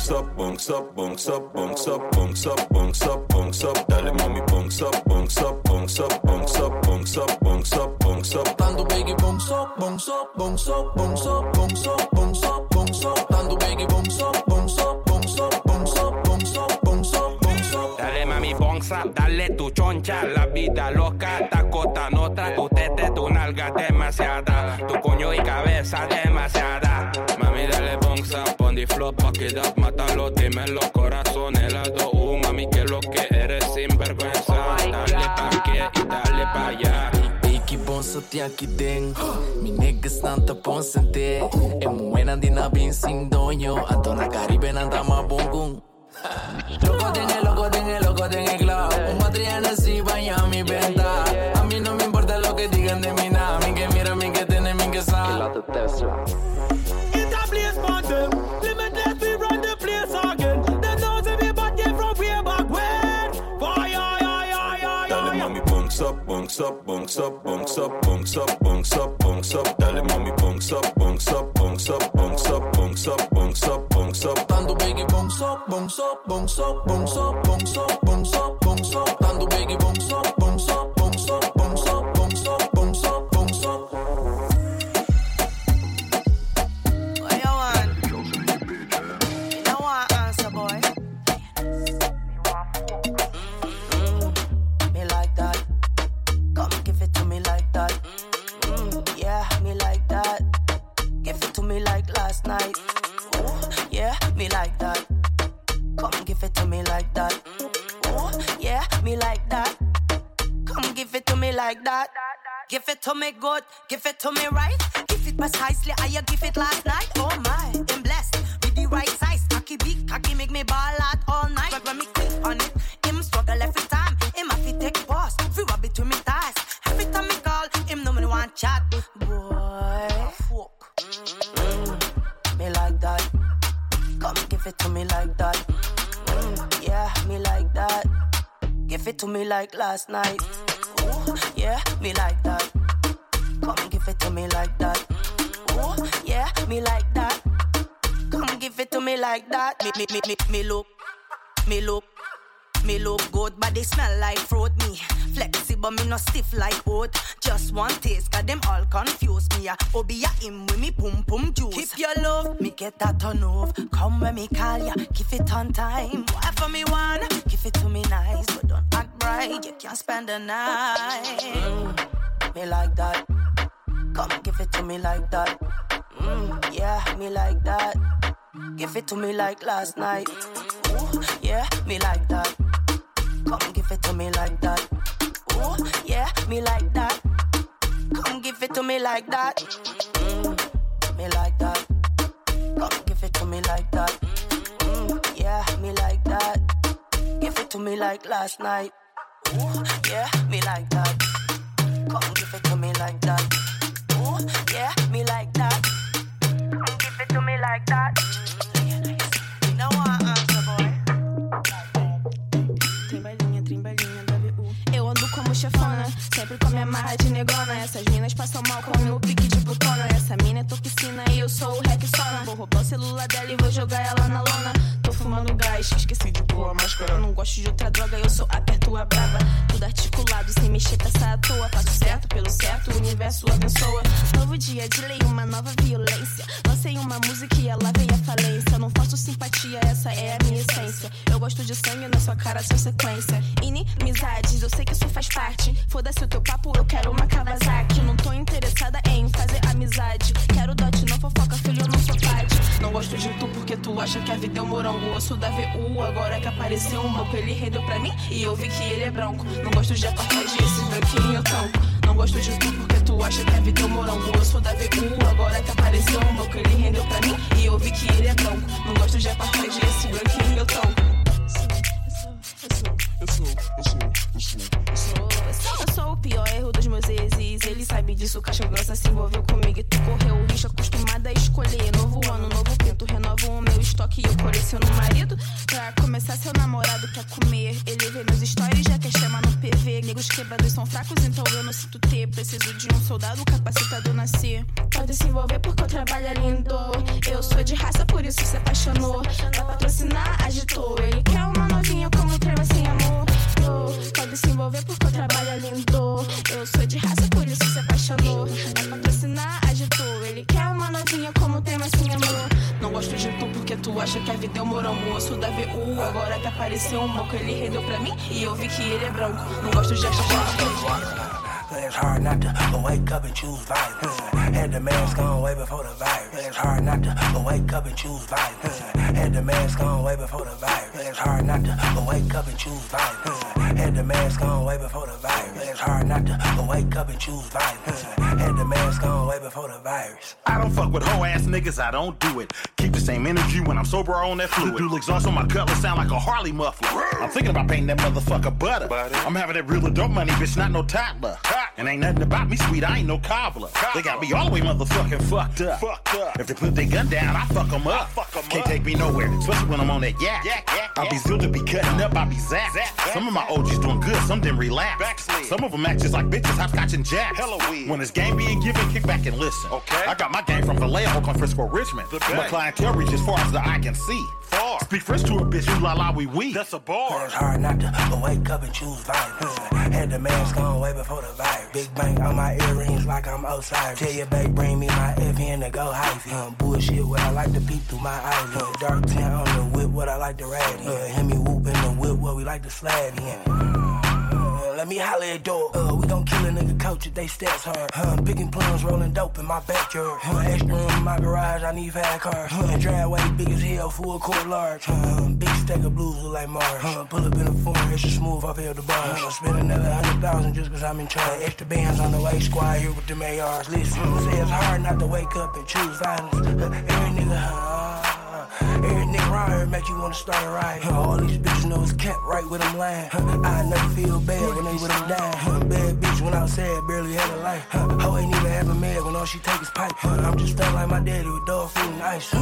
bunks up, bunks up, bunks up, bunks up, bunks up, bunks up, bunks up. Dale mami, bunks up, bunks up, bunks up, bunks up, bunks up, bunks up, bunks up. Dando biggie, bunks up, bunks up, bunks up, bunks up, bunks up, bunks up, bunks up. Dando biggie, bunks up, bunks up, bunks up, bunks up, bunks up, bunks up, bunks up. Dale mami, bunks up, dale tu choncha, la vida loca, tacota nota, tu tete, tu nalga demasiada, tu coño y cabeza demasiada. Mami, dale bunks up, on the floor, fuck it up, mátalo, dime los corazones, las dos, mami, que lo que eres sinvergüenza. Dale pa' aquí y dale pa' allá. Iki bonso ti aqui dentro, mi niggas nanta ponsente. E muena di na bin sing doño, Antona Caribe nanta ma bongun. Loco tengo club, un matriana si vaya a mi venta. A mí no me importa lo que digan de mi nada, mi que mira, mi que tiene, mi que sabe. It's a place for them, limitless we run the place again. Them knows if we bought them from way back when. Dale mami, bunks up, bunks up, bunks up, bunks up, bunks up, bunks up, bunks up. Dale mami, bunks up, bunks up, bunks up, bunks up, bunks up, bunks up, bunks up. Dando biggie, bunks up, bunks up, bunks up, bunks up, bunks up, bunks up, bunks up. Dando biggie, bunks up, bunks up, bunks up, bunks up, bunks up, bunks up, bunks up. What you want? You don't want answer, boy. Me like that. Come give it to me like that. Yeah, me like that. Give it to me like last night. Ooh, yeah, me like that. Come give it to me like that. Ooh, yeah, me like that. Come give it to me like that. Give it to me good, give it to me right. Give it precisely how you give it last night. Oh my, I'm blessed with the right size. Cocky big, cocky make me ball out all night. But when me click on it, him struggle every time. Him have to take pause, fi rub it to me thighs. Every time me call, him know me want chat. Boy, fuck. Me like that. Come give it to me like that. Yeah, me like that. Give it to me like last night. Ooh, yeah, me like that. Come give it to me like that. Ooh, yeah, me like that. Come give it to me like that. Me look good, but they smell like fruit. Me flexible, me no stiff like oat. Just one taste, got them all confused. Me a obi a him with me pum pum juice. Keep your love, me get that turn off. Come when me call ya, give it on time. Whatever me want, give it to me nice, but don't act bright. You can't spend the night. Me like that. Come give it to me like that. Yeah, me like that. Give it to me like last night. Ooh, yeah, me like that. Come give it to me like that. Ooh, yeah, me like that. Come give it to me like that. Me like that. Come give it to me like that. Yeah, me like that. Give it to me like last night. Ooh, yeah, me like that. Come give it to me like that. Ooh, yeah, me like that. Come give it to me like that. You know what, answer, boy. Trimbalinha da VU. Eu ando como chefona, sempre com minha marra de negona. Essas minas passam mal com o meu pique de putona. Essa mina é toxina e eu sou o Rexona. Vou roubar o celular dela e vou jogar ela na lona. Tô fumando gás, esqueci de pôr a máscara. Não gosto de outra droga, eu sou aperto a brava. Tudo articulado, sem mexer, peça à toa. Faço certo pelo certo, o universo abençoa. Novo dia de lei, uma nova violência. Lancei uma música e ela veio à falência. Não faço simpatia, essa é a minha essência. Eu gosto de sangue na sua cara, sua sequência. Inimizades, eu sei que isso faz parte. Foda-se o teu papo, eu quero uma Kawasaki. Não tô interessada em fazer amizade. Quero dote, não fofoca, filho, eu não sou parte. Não gosto de tu porque tu acha que a vida é um morango. Eu sou da VU, agora que apareceu um banco. Ele rendeu pra mim e eu vi que ele é branco. Não gosto de apartheid, esse branquinho eu tanco. Não gosto de tu porque tu acha que a vida é um morango. Eu sou da VU, agora que apareceu um banco. Ele rendeu pra mim e eu vi que ele é branco. Não gosto de apartheid, esse branquinho eu tanco. Eu sou o pior erro dos meus exes. Ele sabe disso, caixa grossa se envolveu comigo e tu correu o risco. Acostumada a escolher novo ano, novo pinto. Renovo o meu estoque e eu coleciono marido. Pra começar, seu namorado quer comer. Ele vê meus stories, já quer chamar no PV. Negros quebrados são fracos, então eu não sinto ter. Preciso de um soldado capacitado nascer. Pode se envolver porque o trabalho é lindo. Eu sou de raça, por isso se apaixonou. Dá patrocínio porque tu acha que a vida é um morango. Eu sou da VU, agora até apareceu um moco. Ele rendeu pra mim e eu vi que ele é branco. Não gosto de achar. It's hard not to wake up and choose violence. Had the mask on way before the virus. It's hard not to wake up and choose violence. Had the mask on way before the virus. It's hard not to wake up and choose violence. Had the mask on way before the virus. It's hard not to wake up and choose violence. Had the mask on way before the virus. I don't fuck with hoe ass niggas, I don't do it. Keep the same energy when I'm sober on that fluid. Dual exhaust on my cutlass sound like a Harley muffler. I'm thinking about painting that motherfucker butter. I'm having that real adult money, bitch, not no toddler. And ain't nothing about me sweet, I ain't no cobbler. They got me all the way motherfucking fucked up. If they put their gun down, I fuck them up. Can't take me nowhere, especially when I'm on that yak. I be zilled to be cutting up, I be zapped. Some of my OGs doing good, some them relapse. Some of them act just like bitches, hopscotch and jacks. When it's game being given, kick back and listen. I got my game from Vallejo, Oakland, Frisco, Richmond. My clientele reach as far as the eye can see. Speak French to a bitch, you la la wee. That's a bar. It's hard not to wake up and choose violence. Had the mask on way before the virus. Big bank on my earrings like I'm Osiris. Tell your babe bring me my FN to go hyphy. Bullshit what I like to peep through my eyes. Dark tint on the whip what I like to ride in. Hear me whoop in the whip what we like to slide in. Let me holler at dog. We gon' kill a nigga coach if they stats hard. Picking plums, rolling dope in my backyard. Extra room in my garage, I need 5 cars. Driveway big as hell, full court large. Big stack of blues look like Mars. Pull up in a foreign, extra smooth off the bar. Spend another 100,000 just cause I'm in charge. Extra bands on the way, squad here with the ARs. Listen, say it's hard not to wake up and choose violence. Every nigga around here make you wanna start a riot. All these bitches know it's kept right with them lying. I never feel bad when they with them dying. Bad bitch when outside, barely had a life. Hoe ain't even have a man when all she take is pipe. I'm just stuck like my daddy with dog food and ice.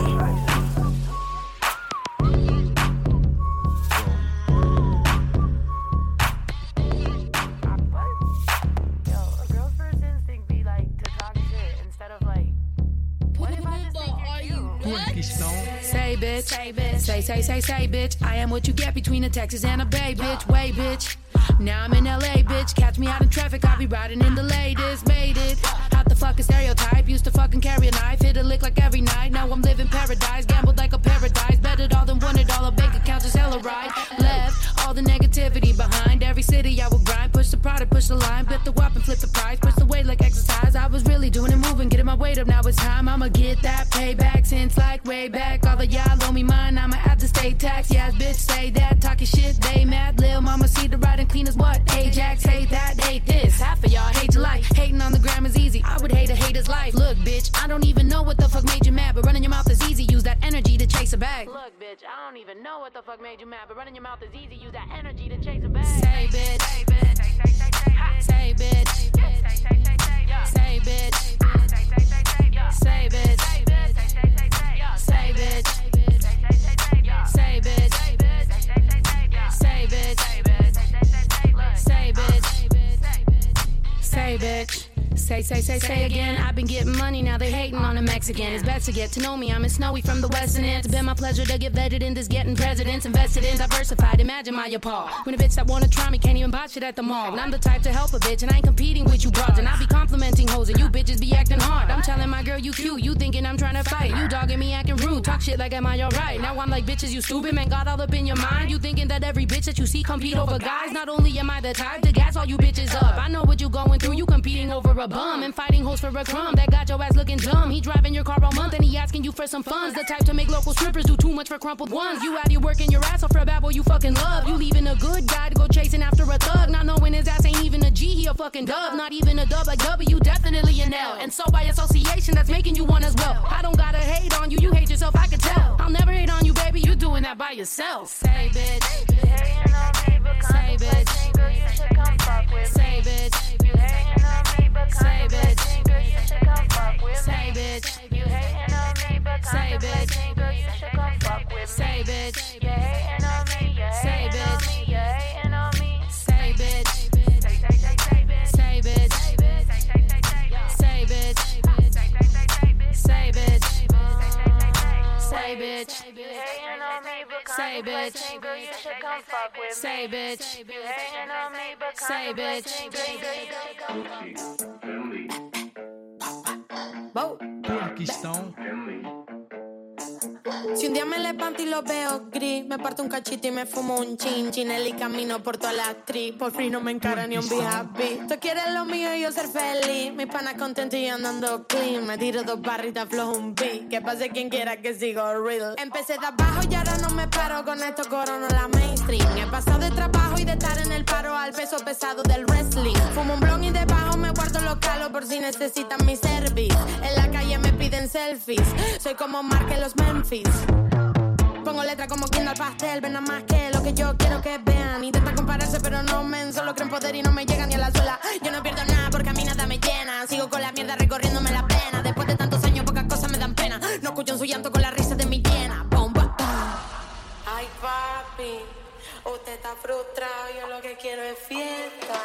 Say bitch, say bitch. I am what you get between a Texas and a Bay bitch. Way bitch. Now I'm in LA bitch. Catch me out in traffic, I'll be riding in the latest. Made it. Out the fucking stereotype. Used to fucking carry a knife. Hit a lick like every night. Now I'm living paradise. Gambled like a paradise. Bet it all then won it all. A bank account just hella right. Left all the negativity behind. Every city I would grind. Push the product, push the line. Bet the whop and flip the price. Push the weight like exercise. I was really doing it, moving, getting my weight up. Now it's time. I'ma get that payback since like way back. All of y'all owe me mine. I'ma have to stay taxed. Yes, bitch, say that. Talking shit, they mad. Lil' mama see the ride and clean as what? Ajax, hate that, hate this. Half of y'all hate your life. Hating on the gram is easy. I would hate a hater's life. Look, bitch, I don't even know what the fuck made you mad, but running your mouth is easy. Use that energy to chase a bag. Look, bitch, I don't even know what the fuck made you mad, but running your mouth is easy. Use that energy to chase a bag. Say bitch, say bitch, say bitch, say bitch, say bitch, say bitch, say bitch, say bitch, say bitch. Say again. I've been getting money, now they hating on a Mexican. It's best to get to know me, I'm in Snowy from the western end. It's been my pleasure to get vetted in this getting presidents. Invested in diversified, imagine my appall. When a bitch that wanna try me can't even buy shit at the mall. When I'm the type to help a bitch and I ain't competing with you broads. And I be complimenting hoes and you bitches be acting hard. I'm telling my girl you cute, you thinking I'm trying to fight. You dogging me acting rude, talk shit like am I alright? Now I'm like bitches you stupid, man got all up in your mind. You thinking that every bitch that you see compete over guys. Not only am I the type to gas all you bitches up, I know what you going through, you competing over a bum and fighting hoes for a crumb. That got your ass looking dumb. He driving your car all month and he asking you for some funds. The type to make local strippers do too much for crumpled ones. You out here working your ass off for a bad boy you fucking love. You leaving a good guy to go chasing after a thug, not knowing his ass ain't even a G, he a fucking dub. Not even a dub like W, definitely an L. And so by association that's making you one as well. I don't gotta hate on you, you hate yourself, I can tell. I'll never hate on you baby, you doing that by yourself. Say bitch, say bitch, say bitch, say bitch, say bitch, you hating on me, but say bitch, girl, you should come fuck with me. Say bitch, you hating on me, you hating on me, you hating on me. Say bitch, say bitch, say bitch, say bitch, say bitch, you hating on me, but say bitch, girl, you should come fuck with me. Say bitch, you hating on me, but say bitch. Paquistão. Si un día me levanto y lo veo gris, me parto un cachito y me fumo un chin chinel y camino por toda la actriz. Por fin no me encara ni un happy. Tú quieres lo mío y yo ser feliz. Mis panas contentos y yo andando clean. Me tiro 2 barritas, flojo un beat. Que pase quien quiera que sigo real. Empecé de abajo y ahora no me paro. Con esto corono la mainstream. He pasado de trabajo y de estar en el paro al peso pesado del wrestling. Fumo un blon y debajo me guardo los calos por si necesitan mi service. En la calle me piden selfies. Soy como Mark en los Memphis. Pongo letra como Kindle pastel. Ven nada más que lo que yo quiero que vean. Intentan compararse pero no men. Solo creen poder y no me llegan ni a la suela. Yo no pierdo nada porque a mí nada me llena. Sigo con la mierda recorriéndome la pena. Después de tantos años pocas cosas me dan pena. No escucho su llanto con la risa de mi llena. Bomba. Ay papi, usted está frustrado. Yo lo que quiero es fiesta.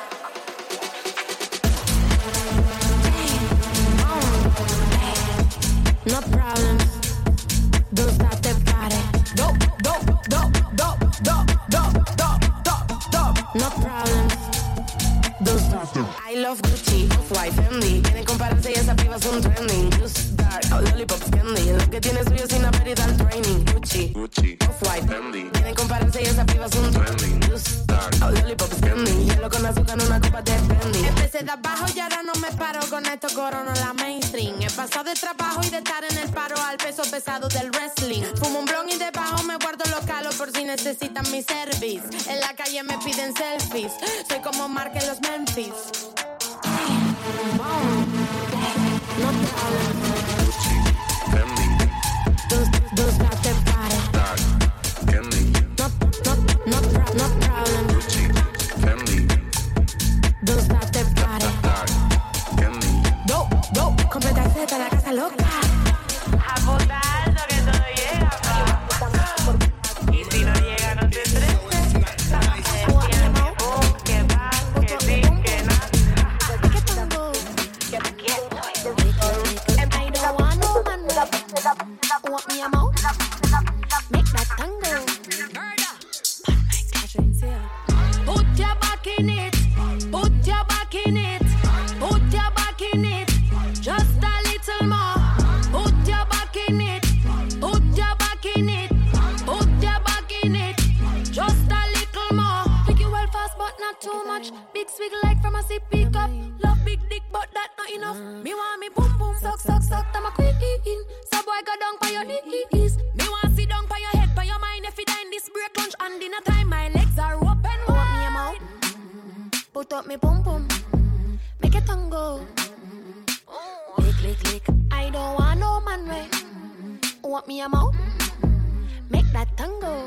No problem. Don't stop the party. No problem. Don't stop the I love Gucci, Off-White, Fendi. Quieren compararse y esas pibas son trending. Just dark, lollipops, candy. Lo que tiene suyo sin haber ido al training. Gucci, Off-White, Fendi. Quieren compararse y esas pibas son trending. Just dark, lollipops, candy. Hielo con azúcar en una copa de Fendi. Empecé de abajo y ahora no me paro. Con esto corono la mainstream. He pasado de trabajo y de estar en el paro al peso pesado del wrestling. Fumo un blon y debajo me guardo los calos por si necesitan mi service. En la calle me piden selfies. Soy como Mark en los Memphis. No problem. Don't stop the party. No problem. Don't stop the party. No, completa Z, la casa loca. Apuntar que todo llega, pa. Y si no llega, no te estreses. Que va, que sí, que no. I don't want no man want me a mouth. Make that tango. Put your back in it. Put your back in it. Put your back in it. Just a little more. Put your back in it. Put your back in it. Put your back in it. Just a little more. Pick you well fast, but not too much. Big swig like from a sip pick up. Love big dick, but that not enough. Me want me boom boom, suck suck suck. I'm a queen. So boy go down by your knees. Me want sit down by your head, by your mind. If you die in this break lunch and dinner time, my legs are open wide. Want me a mouth? Put up me boom boom. Make it tango. Lick. I don't want no man way. Want me a mouth? Make that tango.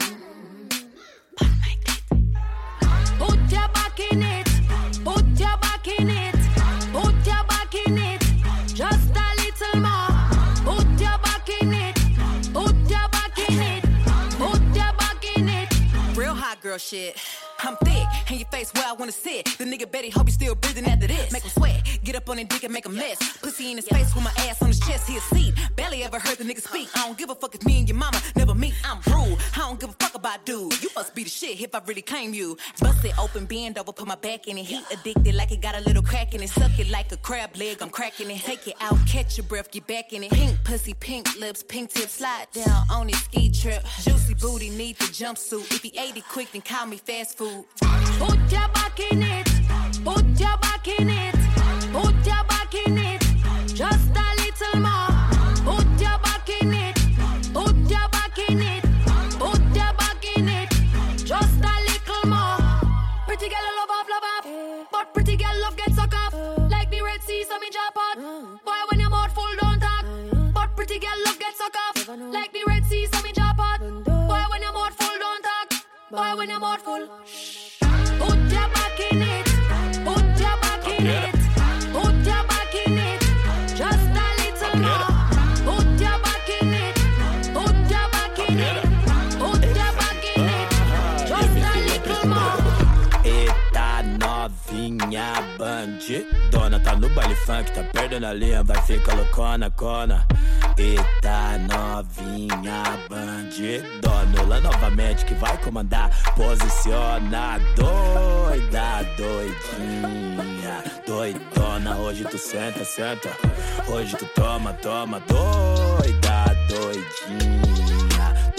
Put your back in it. Put your back in it. Put your back in it. Just a little more. Put your back in it. Put your back in it. Put your back in it. Real hot girl shit. I'm thick, and your face where I wanna sit. The nigga Betty hope you still breathing after this. Make him sweat, get up on his dick and make a mess. Pussy in his face with my ass on his chest, he a seat. Barely ever heard the nigga speak. I don't give a fuck if me and your mama never meet. I'm rude, I don't give a fuck about dude. You must be the shit if I really claim you. Bust it open, bend over, put my back in it. He addicted like it got a little crack in it. Suck it like a crab leg, I'm cracking it. Take it out, catch your breath, get back in it. Pink pussy, pink lips, pink tips, slide down on his ski trip. Juicy booty, need the jumpsuit. If he ate it quick, then call me fast food. Put your back in it. Put your back in it. Put your back in it. Just a little more. Put your back in it. Put your back in it. Put your back in it. Just a little more. Pretty girl love off. But pretty girl love get suck off. Like the Red Sea, so me drop out. Boy, when your mouth full, don't talk. But pretty girl love get suck off. Like the Red Sea, so me drop out. Boy, when your mouth full, don't talk. Boy, when your mouth full. Put your back in it. Put your back in it. Put your back in it. Just a little more. Put your back in it. Put your back in it. Put your back in it. Just a little more. Eita novinha bandidona, tá no baile funk, tá perdendo a linha, vai ficar loucona, cona. Eita novinha bandidona, lá novamente que vai comandar. Posiciona, doida, doidinha, doidona. Hoje tu senta, senta. Hoje tu toma, toma, doida, doidinha.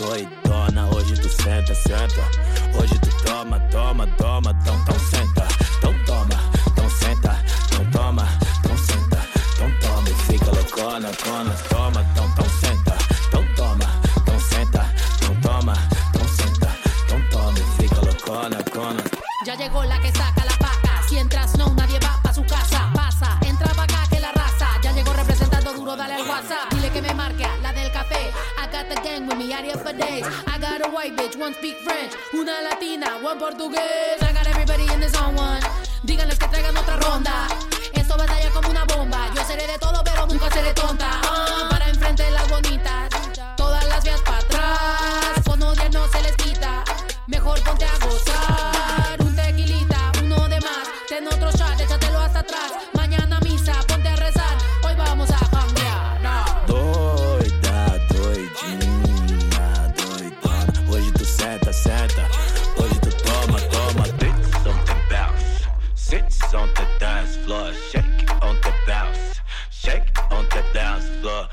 doidona, hoje tu senta, senta. Hoje tu toma, toma, toma, então senta. Então toma, então senta, então toma, então senta. Então toma e fica loucona, cona, toma, então senta. Então toma, então senta, então toma, então senta. Então toma y fica loucona, cona. Ya llegó la que saca la paca. Si entras no, nadie va pa' su casa. Pasa, entra pa' acá que la raza. Ya llegó representando duro, dale al WhatsApp. Dile que me marque a la del café. I got the gang with me, out here for days. I got a white bitch, one speak French. Una latina, one portugués. I got everybody in the zone one. Díganles que traigan otra ronda. Esto batalla como una bomba. Yo seré de todo, pero nunca seré tonta. Para enfrente de las bonitas. Todas las vías para atrás. Con odio no se les quita. Mejor ponte a gozar. Un tequilita, uno de más. Ten otro shot, échatelo hasta atrás. Mañana misa, ponte a rezar. Hoy vamos a cambiar. No. Doida, doidinha, doidona. Hoje tu senta, senta. Hoje tu toma, toma. Tits on the bounce. Sits on the dance floor. Shake it on the bounce. Shake it on the dance floor.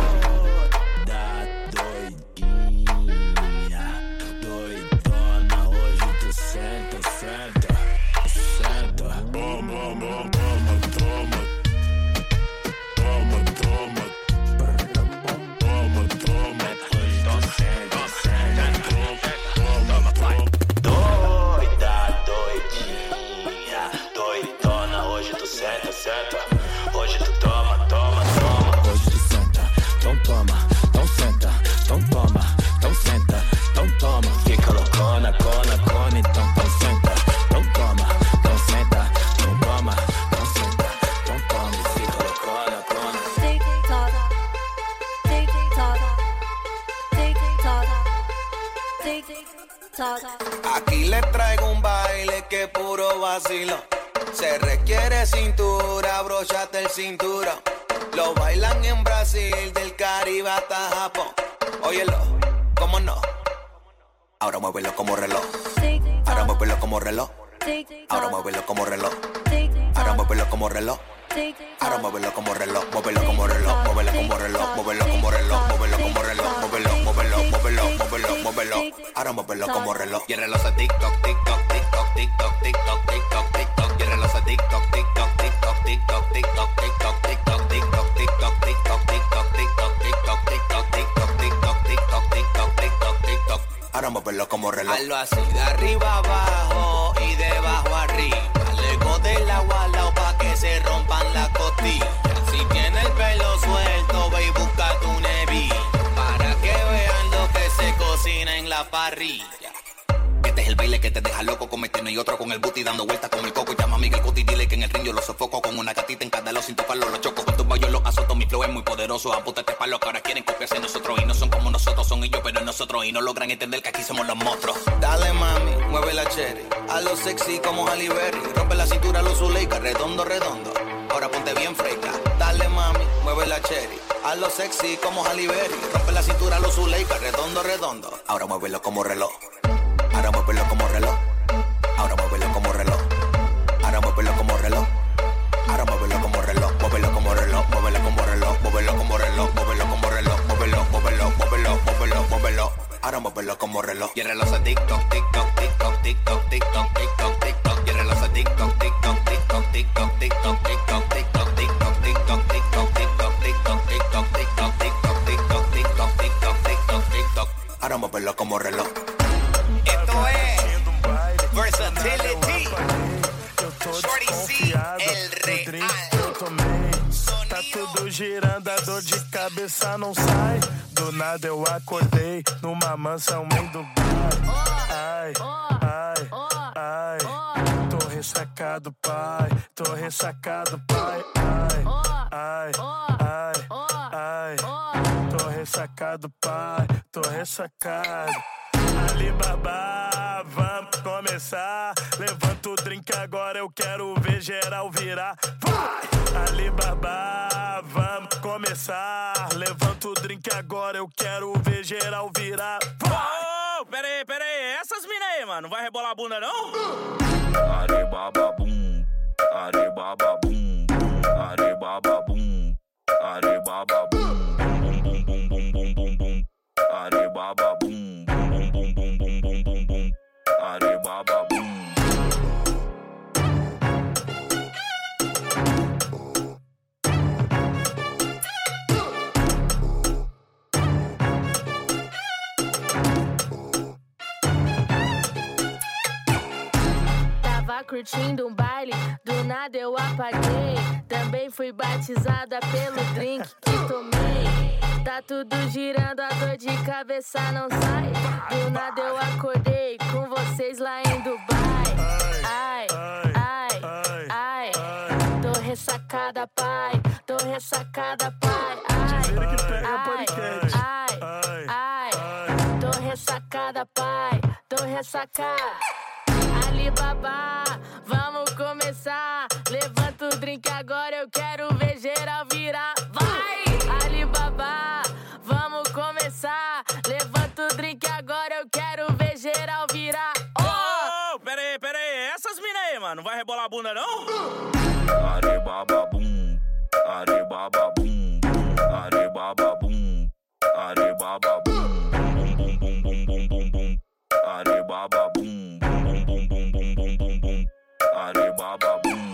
Doida, doidinha, doidona. Hoje tu senta, senta. Senta. Toma, toma, toma, toma. Toma, toma. Toma, toma. Hoje tu senta, senta. Toma, toma. Doida, doidinha, doidona. Hoje tu senta, senta. Hoje tu toma, toma, toma. Hoje tu senta, então toma, então senta, então toma, então senta, então toma. Fica loucona, cona, cona, então senta, então toma, então senta, então toma, então senta, então toma. Fica loucona, cona. Tic toc, tic toc, tic toc, tic toc. Aquí les traigo un baile que es puro vacilo. Se requiere cintura, abróchate el cinturón. Lo bailan en Brasil, del Caribe hasta Japón. Óyelo, ¿cómo no? Ahora muévelo como reloj. Ahora muévelo como reloj. Ahora muévelo como reloj. Ahora muévelo como reloj. Ahora muévelo como reloj. Muévelo como reloj. Muévelo como reloj. Muévelo como reloj. Muévelo como reloj. Muévelo, muévelo, muévelo, muévelo, muévelo. Ahora muévelo como reloj. Y el reloj se TikTok, TikTok, TikTok, TikTok, TikTok, TikTok, TikTok. Y el reloj se TikTok, TikTok, TikTok, TikTok, TikTok, TikTok, TikTok, TikTok, TikTok, TikTok, TikTok, TikTok, TikTok, TikTok, TikTok, TikTok, TikTok, TikTok, TikTok, TikTok. Ahora muévelo como reloj. Hazlo así, de arriba abajo y de abajo arriba. Luego del agua al lado pa' que se rompan las costillas. Si tiene el pelo suelto, ve y busca tu nevilla. Para que vean lo que se cocina en la parrilla. Este es el baile que te deja loco, cometiendo y otro con el booty dando vueltas con el coco. Llama a Miguel Cuti, dile que en el ring yo lo sofoco. Con una gatita en cada lado sin tocarlo lo choco. Con tus yo los azoto, mi flow es muy poderoso. Apúntate pa' lo que ahora quieren copiarse nosotros. Y no son como nosotros, son ellos pero nosotros. Y no logran entender que aquí somos los monstruos. Dale mami, mueve la cherry. A lo sexy como Halle Berry. Rompe la cintura a los Zuleika, redondo, redondo. Ahora ponte bien fresca. Dale mami, mueve la cherry. A lo sexy como Halle Berry. Rompe la cintura a los Zuleika, redondo, redondo. Ahora muévelo como reloj. Ahora muévelo como reloj. Ahora muévelo como reloj. Ahora muévelo como reloj. Ahora muévelo como reloj. Muévelo como reloj. Muévelo como reloj. Muévelo como reloj. Muévelo como reloj. Muévelo, muévelo, muévelo, muévelo, muévelo. Ahora muévelo como reloj. Y el reloj se TikTok, TikTok, TikTok, TikTok, TikTok, TikTok, TikTok. Y el reloj se TikTok, TikTok, TikTok, TikTok, TikTok, TikTok, TikTok, TikTok, TikTok, TikTok, TikTok, TikTok, TikTok, TikTok, TikTok, TikTok, TikTok, TikTok, TikTok, TikTok. Ahora muévelo como reloj. Esto es Versatility. Shorty C, el real. Tá tudo girando, a dor de cabeça não sai. Do nada eu acordei numa mansão em Dubai. Ai, ai, ai. Tô ressacado, pai. Tô ressacado, pai. Ai, ai, ai, ai. Tô ressacado, pai. Tô ressacado. Alibaba, vamos começar. Levanta o drink agora, eu quero ver geral virar. Vai! Alibaba, vamos começar. Levanta o drink agora, eu quero ver geral virar. Vai! Oh, pera aí, essas mina aí, mano, não vai rebolar a bunda não? Alibaba, boom. Alibaba, boom. Alibaba, boom. Alibaba, boom. Boom, boom, boom, boom, boom, boom, boom. Alibaba, boom. curtindo um baile, do nada eu apaguei. Também fui batizada pelo drink que tomei. Tá tudo girando, a dor de cabeça não sai. Do nada eu acordei com vocês lá em Dubai. Ai, ai, ai, tô ressacada, pai. Tô ressacada, pai. Ai, ai, ai, tô ressacada, pai. Tô ressacada. Alibaba, vamos começar. Levanta o drink agora, eu quero ver geral virar. Vai! Alibaba, vamos começar. Levanta o drink agora, eu quero ver geral virar. Oh, pera aí, essas mina aí, mano, não vai rebolar a bunda não? Aribaba bum, aribaba bum, aribaba bum, aribaba bum, bum bum bum bum bum bum, aribaba bum, bum bum bum bum bum bum bum, aribaba bum.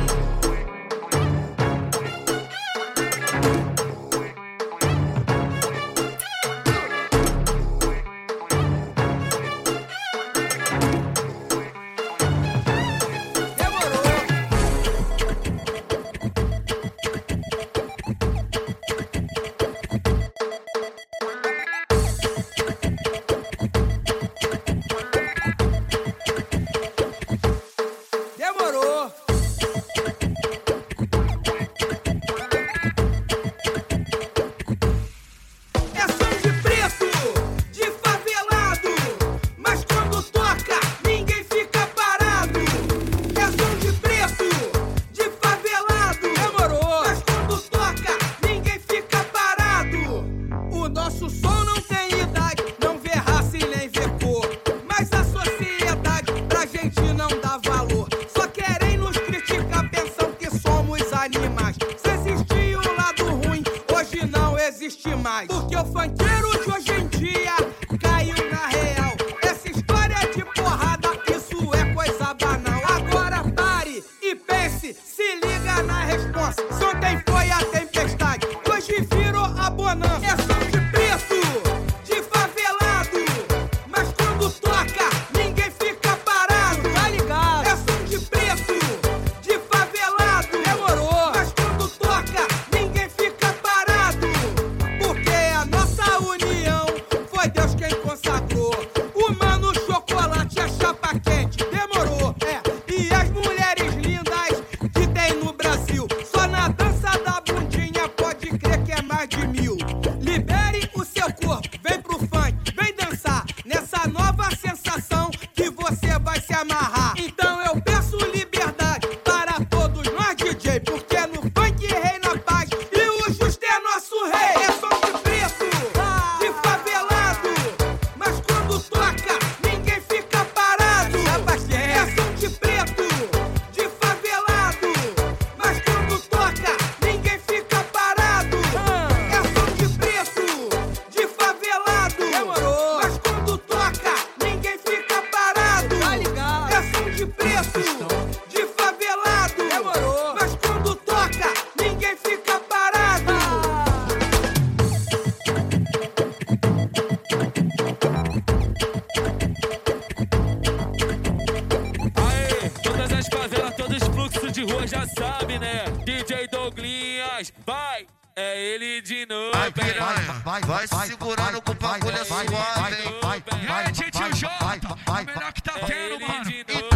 Vai segurando com o bagulho é suave, hein? E aí, tio Jota, o melhor que tá tendo, mano.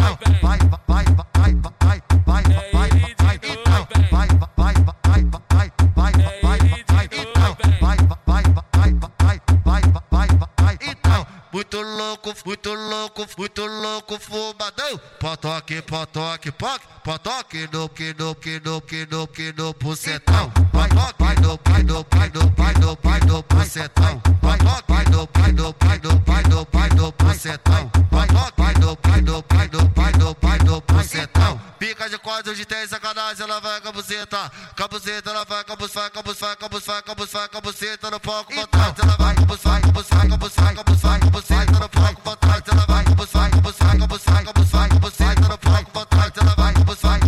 Muito louco, fumadão. Potoque, potoque, poque, potoque no bucetão. Potoque no bucetão. Potoque no bucetão. Potoque no bucetão. Pica de quadro de 10 sacanagem, ela vai com a buceta. Com a buceta, ela vai com a buceta no palco pra trás. Ela vai com a buceta no palco pra trás. Ela vai com a buceta no palco pra trás. Ela vai com a buceta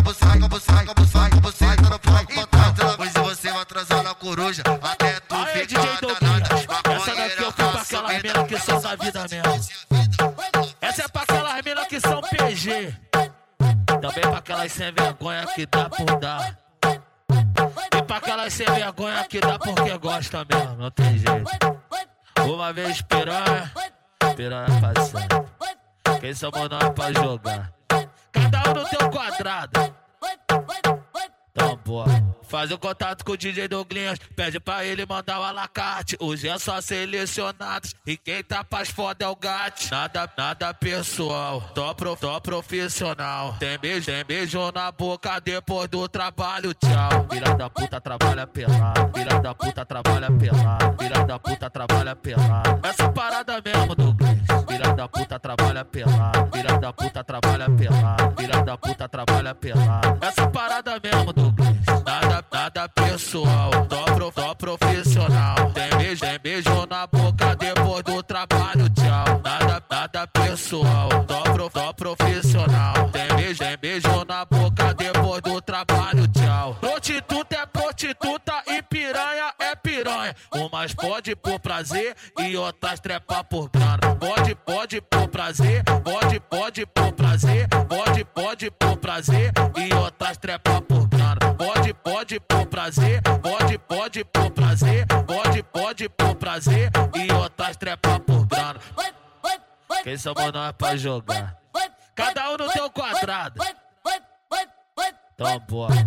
no palco pra trás. Hoje você vai transar na coruja até tu ficar danada. Essa daqui eu fui pra aquelas minas que são da vida mesmo. Essa é pra aquelas minas que são PG. Também pra aquelas sem vergonha que dá por dar. E pra aquelas sem vergonha que dá porque gosta mesmo, não tem jeito. Uma vez piranha, piranha passando. Quem somos nós pra jogar? Cada um no teu quadrado. Então, bora. Faz o contato com o DJ Douglinhas, pede pra ele mandar o alacate. Hoje é só selecionados e quem tá pras foda é o gato. Nada pessoal, tô profissional. Tem beijo na boca depois do trabalho, tchau. Filha da puta trabalha pelado, filha da puta trabalha pelado, filha da puta trabalha pelado. Essa parada mesmo, Douglinhas. Filha da puta trabalha pelado, filha da puta trabalha pelado, filha da puta trabalha pelado. Essa parada mesmo, Douglinhas. Nada pessoal, tô profissional. Tem beijo na boca depois do trabalho, tchau. Nada pessoal, tô profissional. Tem beijo na boca depois do trabalho, tchau. Prostituta é prostituta e piranha é piranha. Umas pode por prazer e outras trepa por grana. Pode por prazer, pode por prazer, pode por prazer e outras trepa por grana. Pode por prazer, pode por prazer, pode por prazer e outras trepa por grana. Quem somos nós pra jogar? Cada um no teu quadrado. Então bora.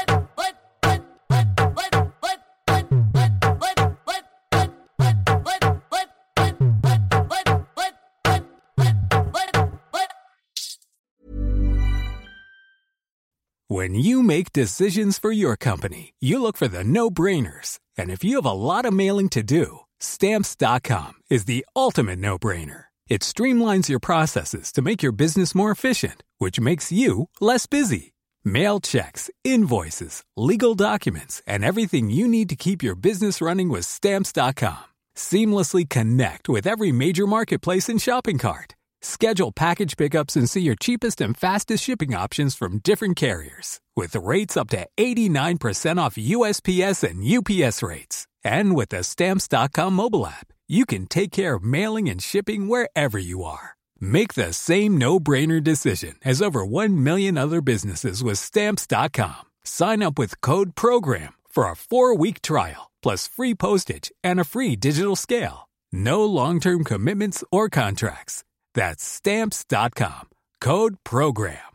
When you make decisions for your company, you look for the no-brainers. And if you have a lot of mailing to do, Stamps.com is the ultimate no-brainer. It streamlines your processes to make your business more efficient, which makes you less busy. Mail checks, invoices, legal documents, and everything you need to keep your business running with Stamps.com. Seamlessly connect with every major marketplace and shopping cart. Schedule package pickups and see your cheapest and fastest shipping options from different carriers, with rates up to 89% off USPS and UPS rates. And with the Stamps.com mobile app, you can take care of mailing and shipping wherever you are. Make the same no-brainer decision as over 1 million other businesses with Stamps.com. Sign up with code PROGRAM for a 4-week trial, plus free postage and a free digital scale. No long-term commitments or contracts. That's Stamps.com. Code PROGRAM.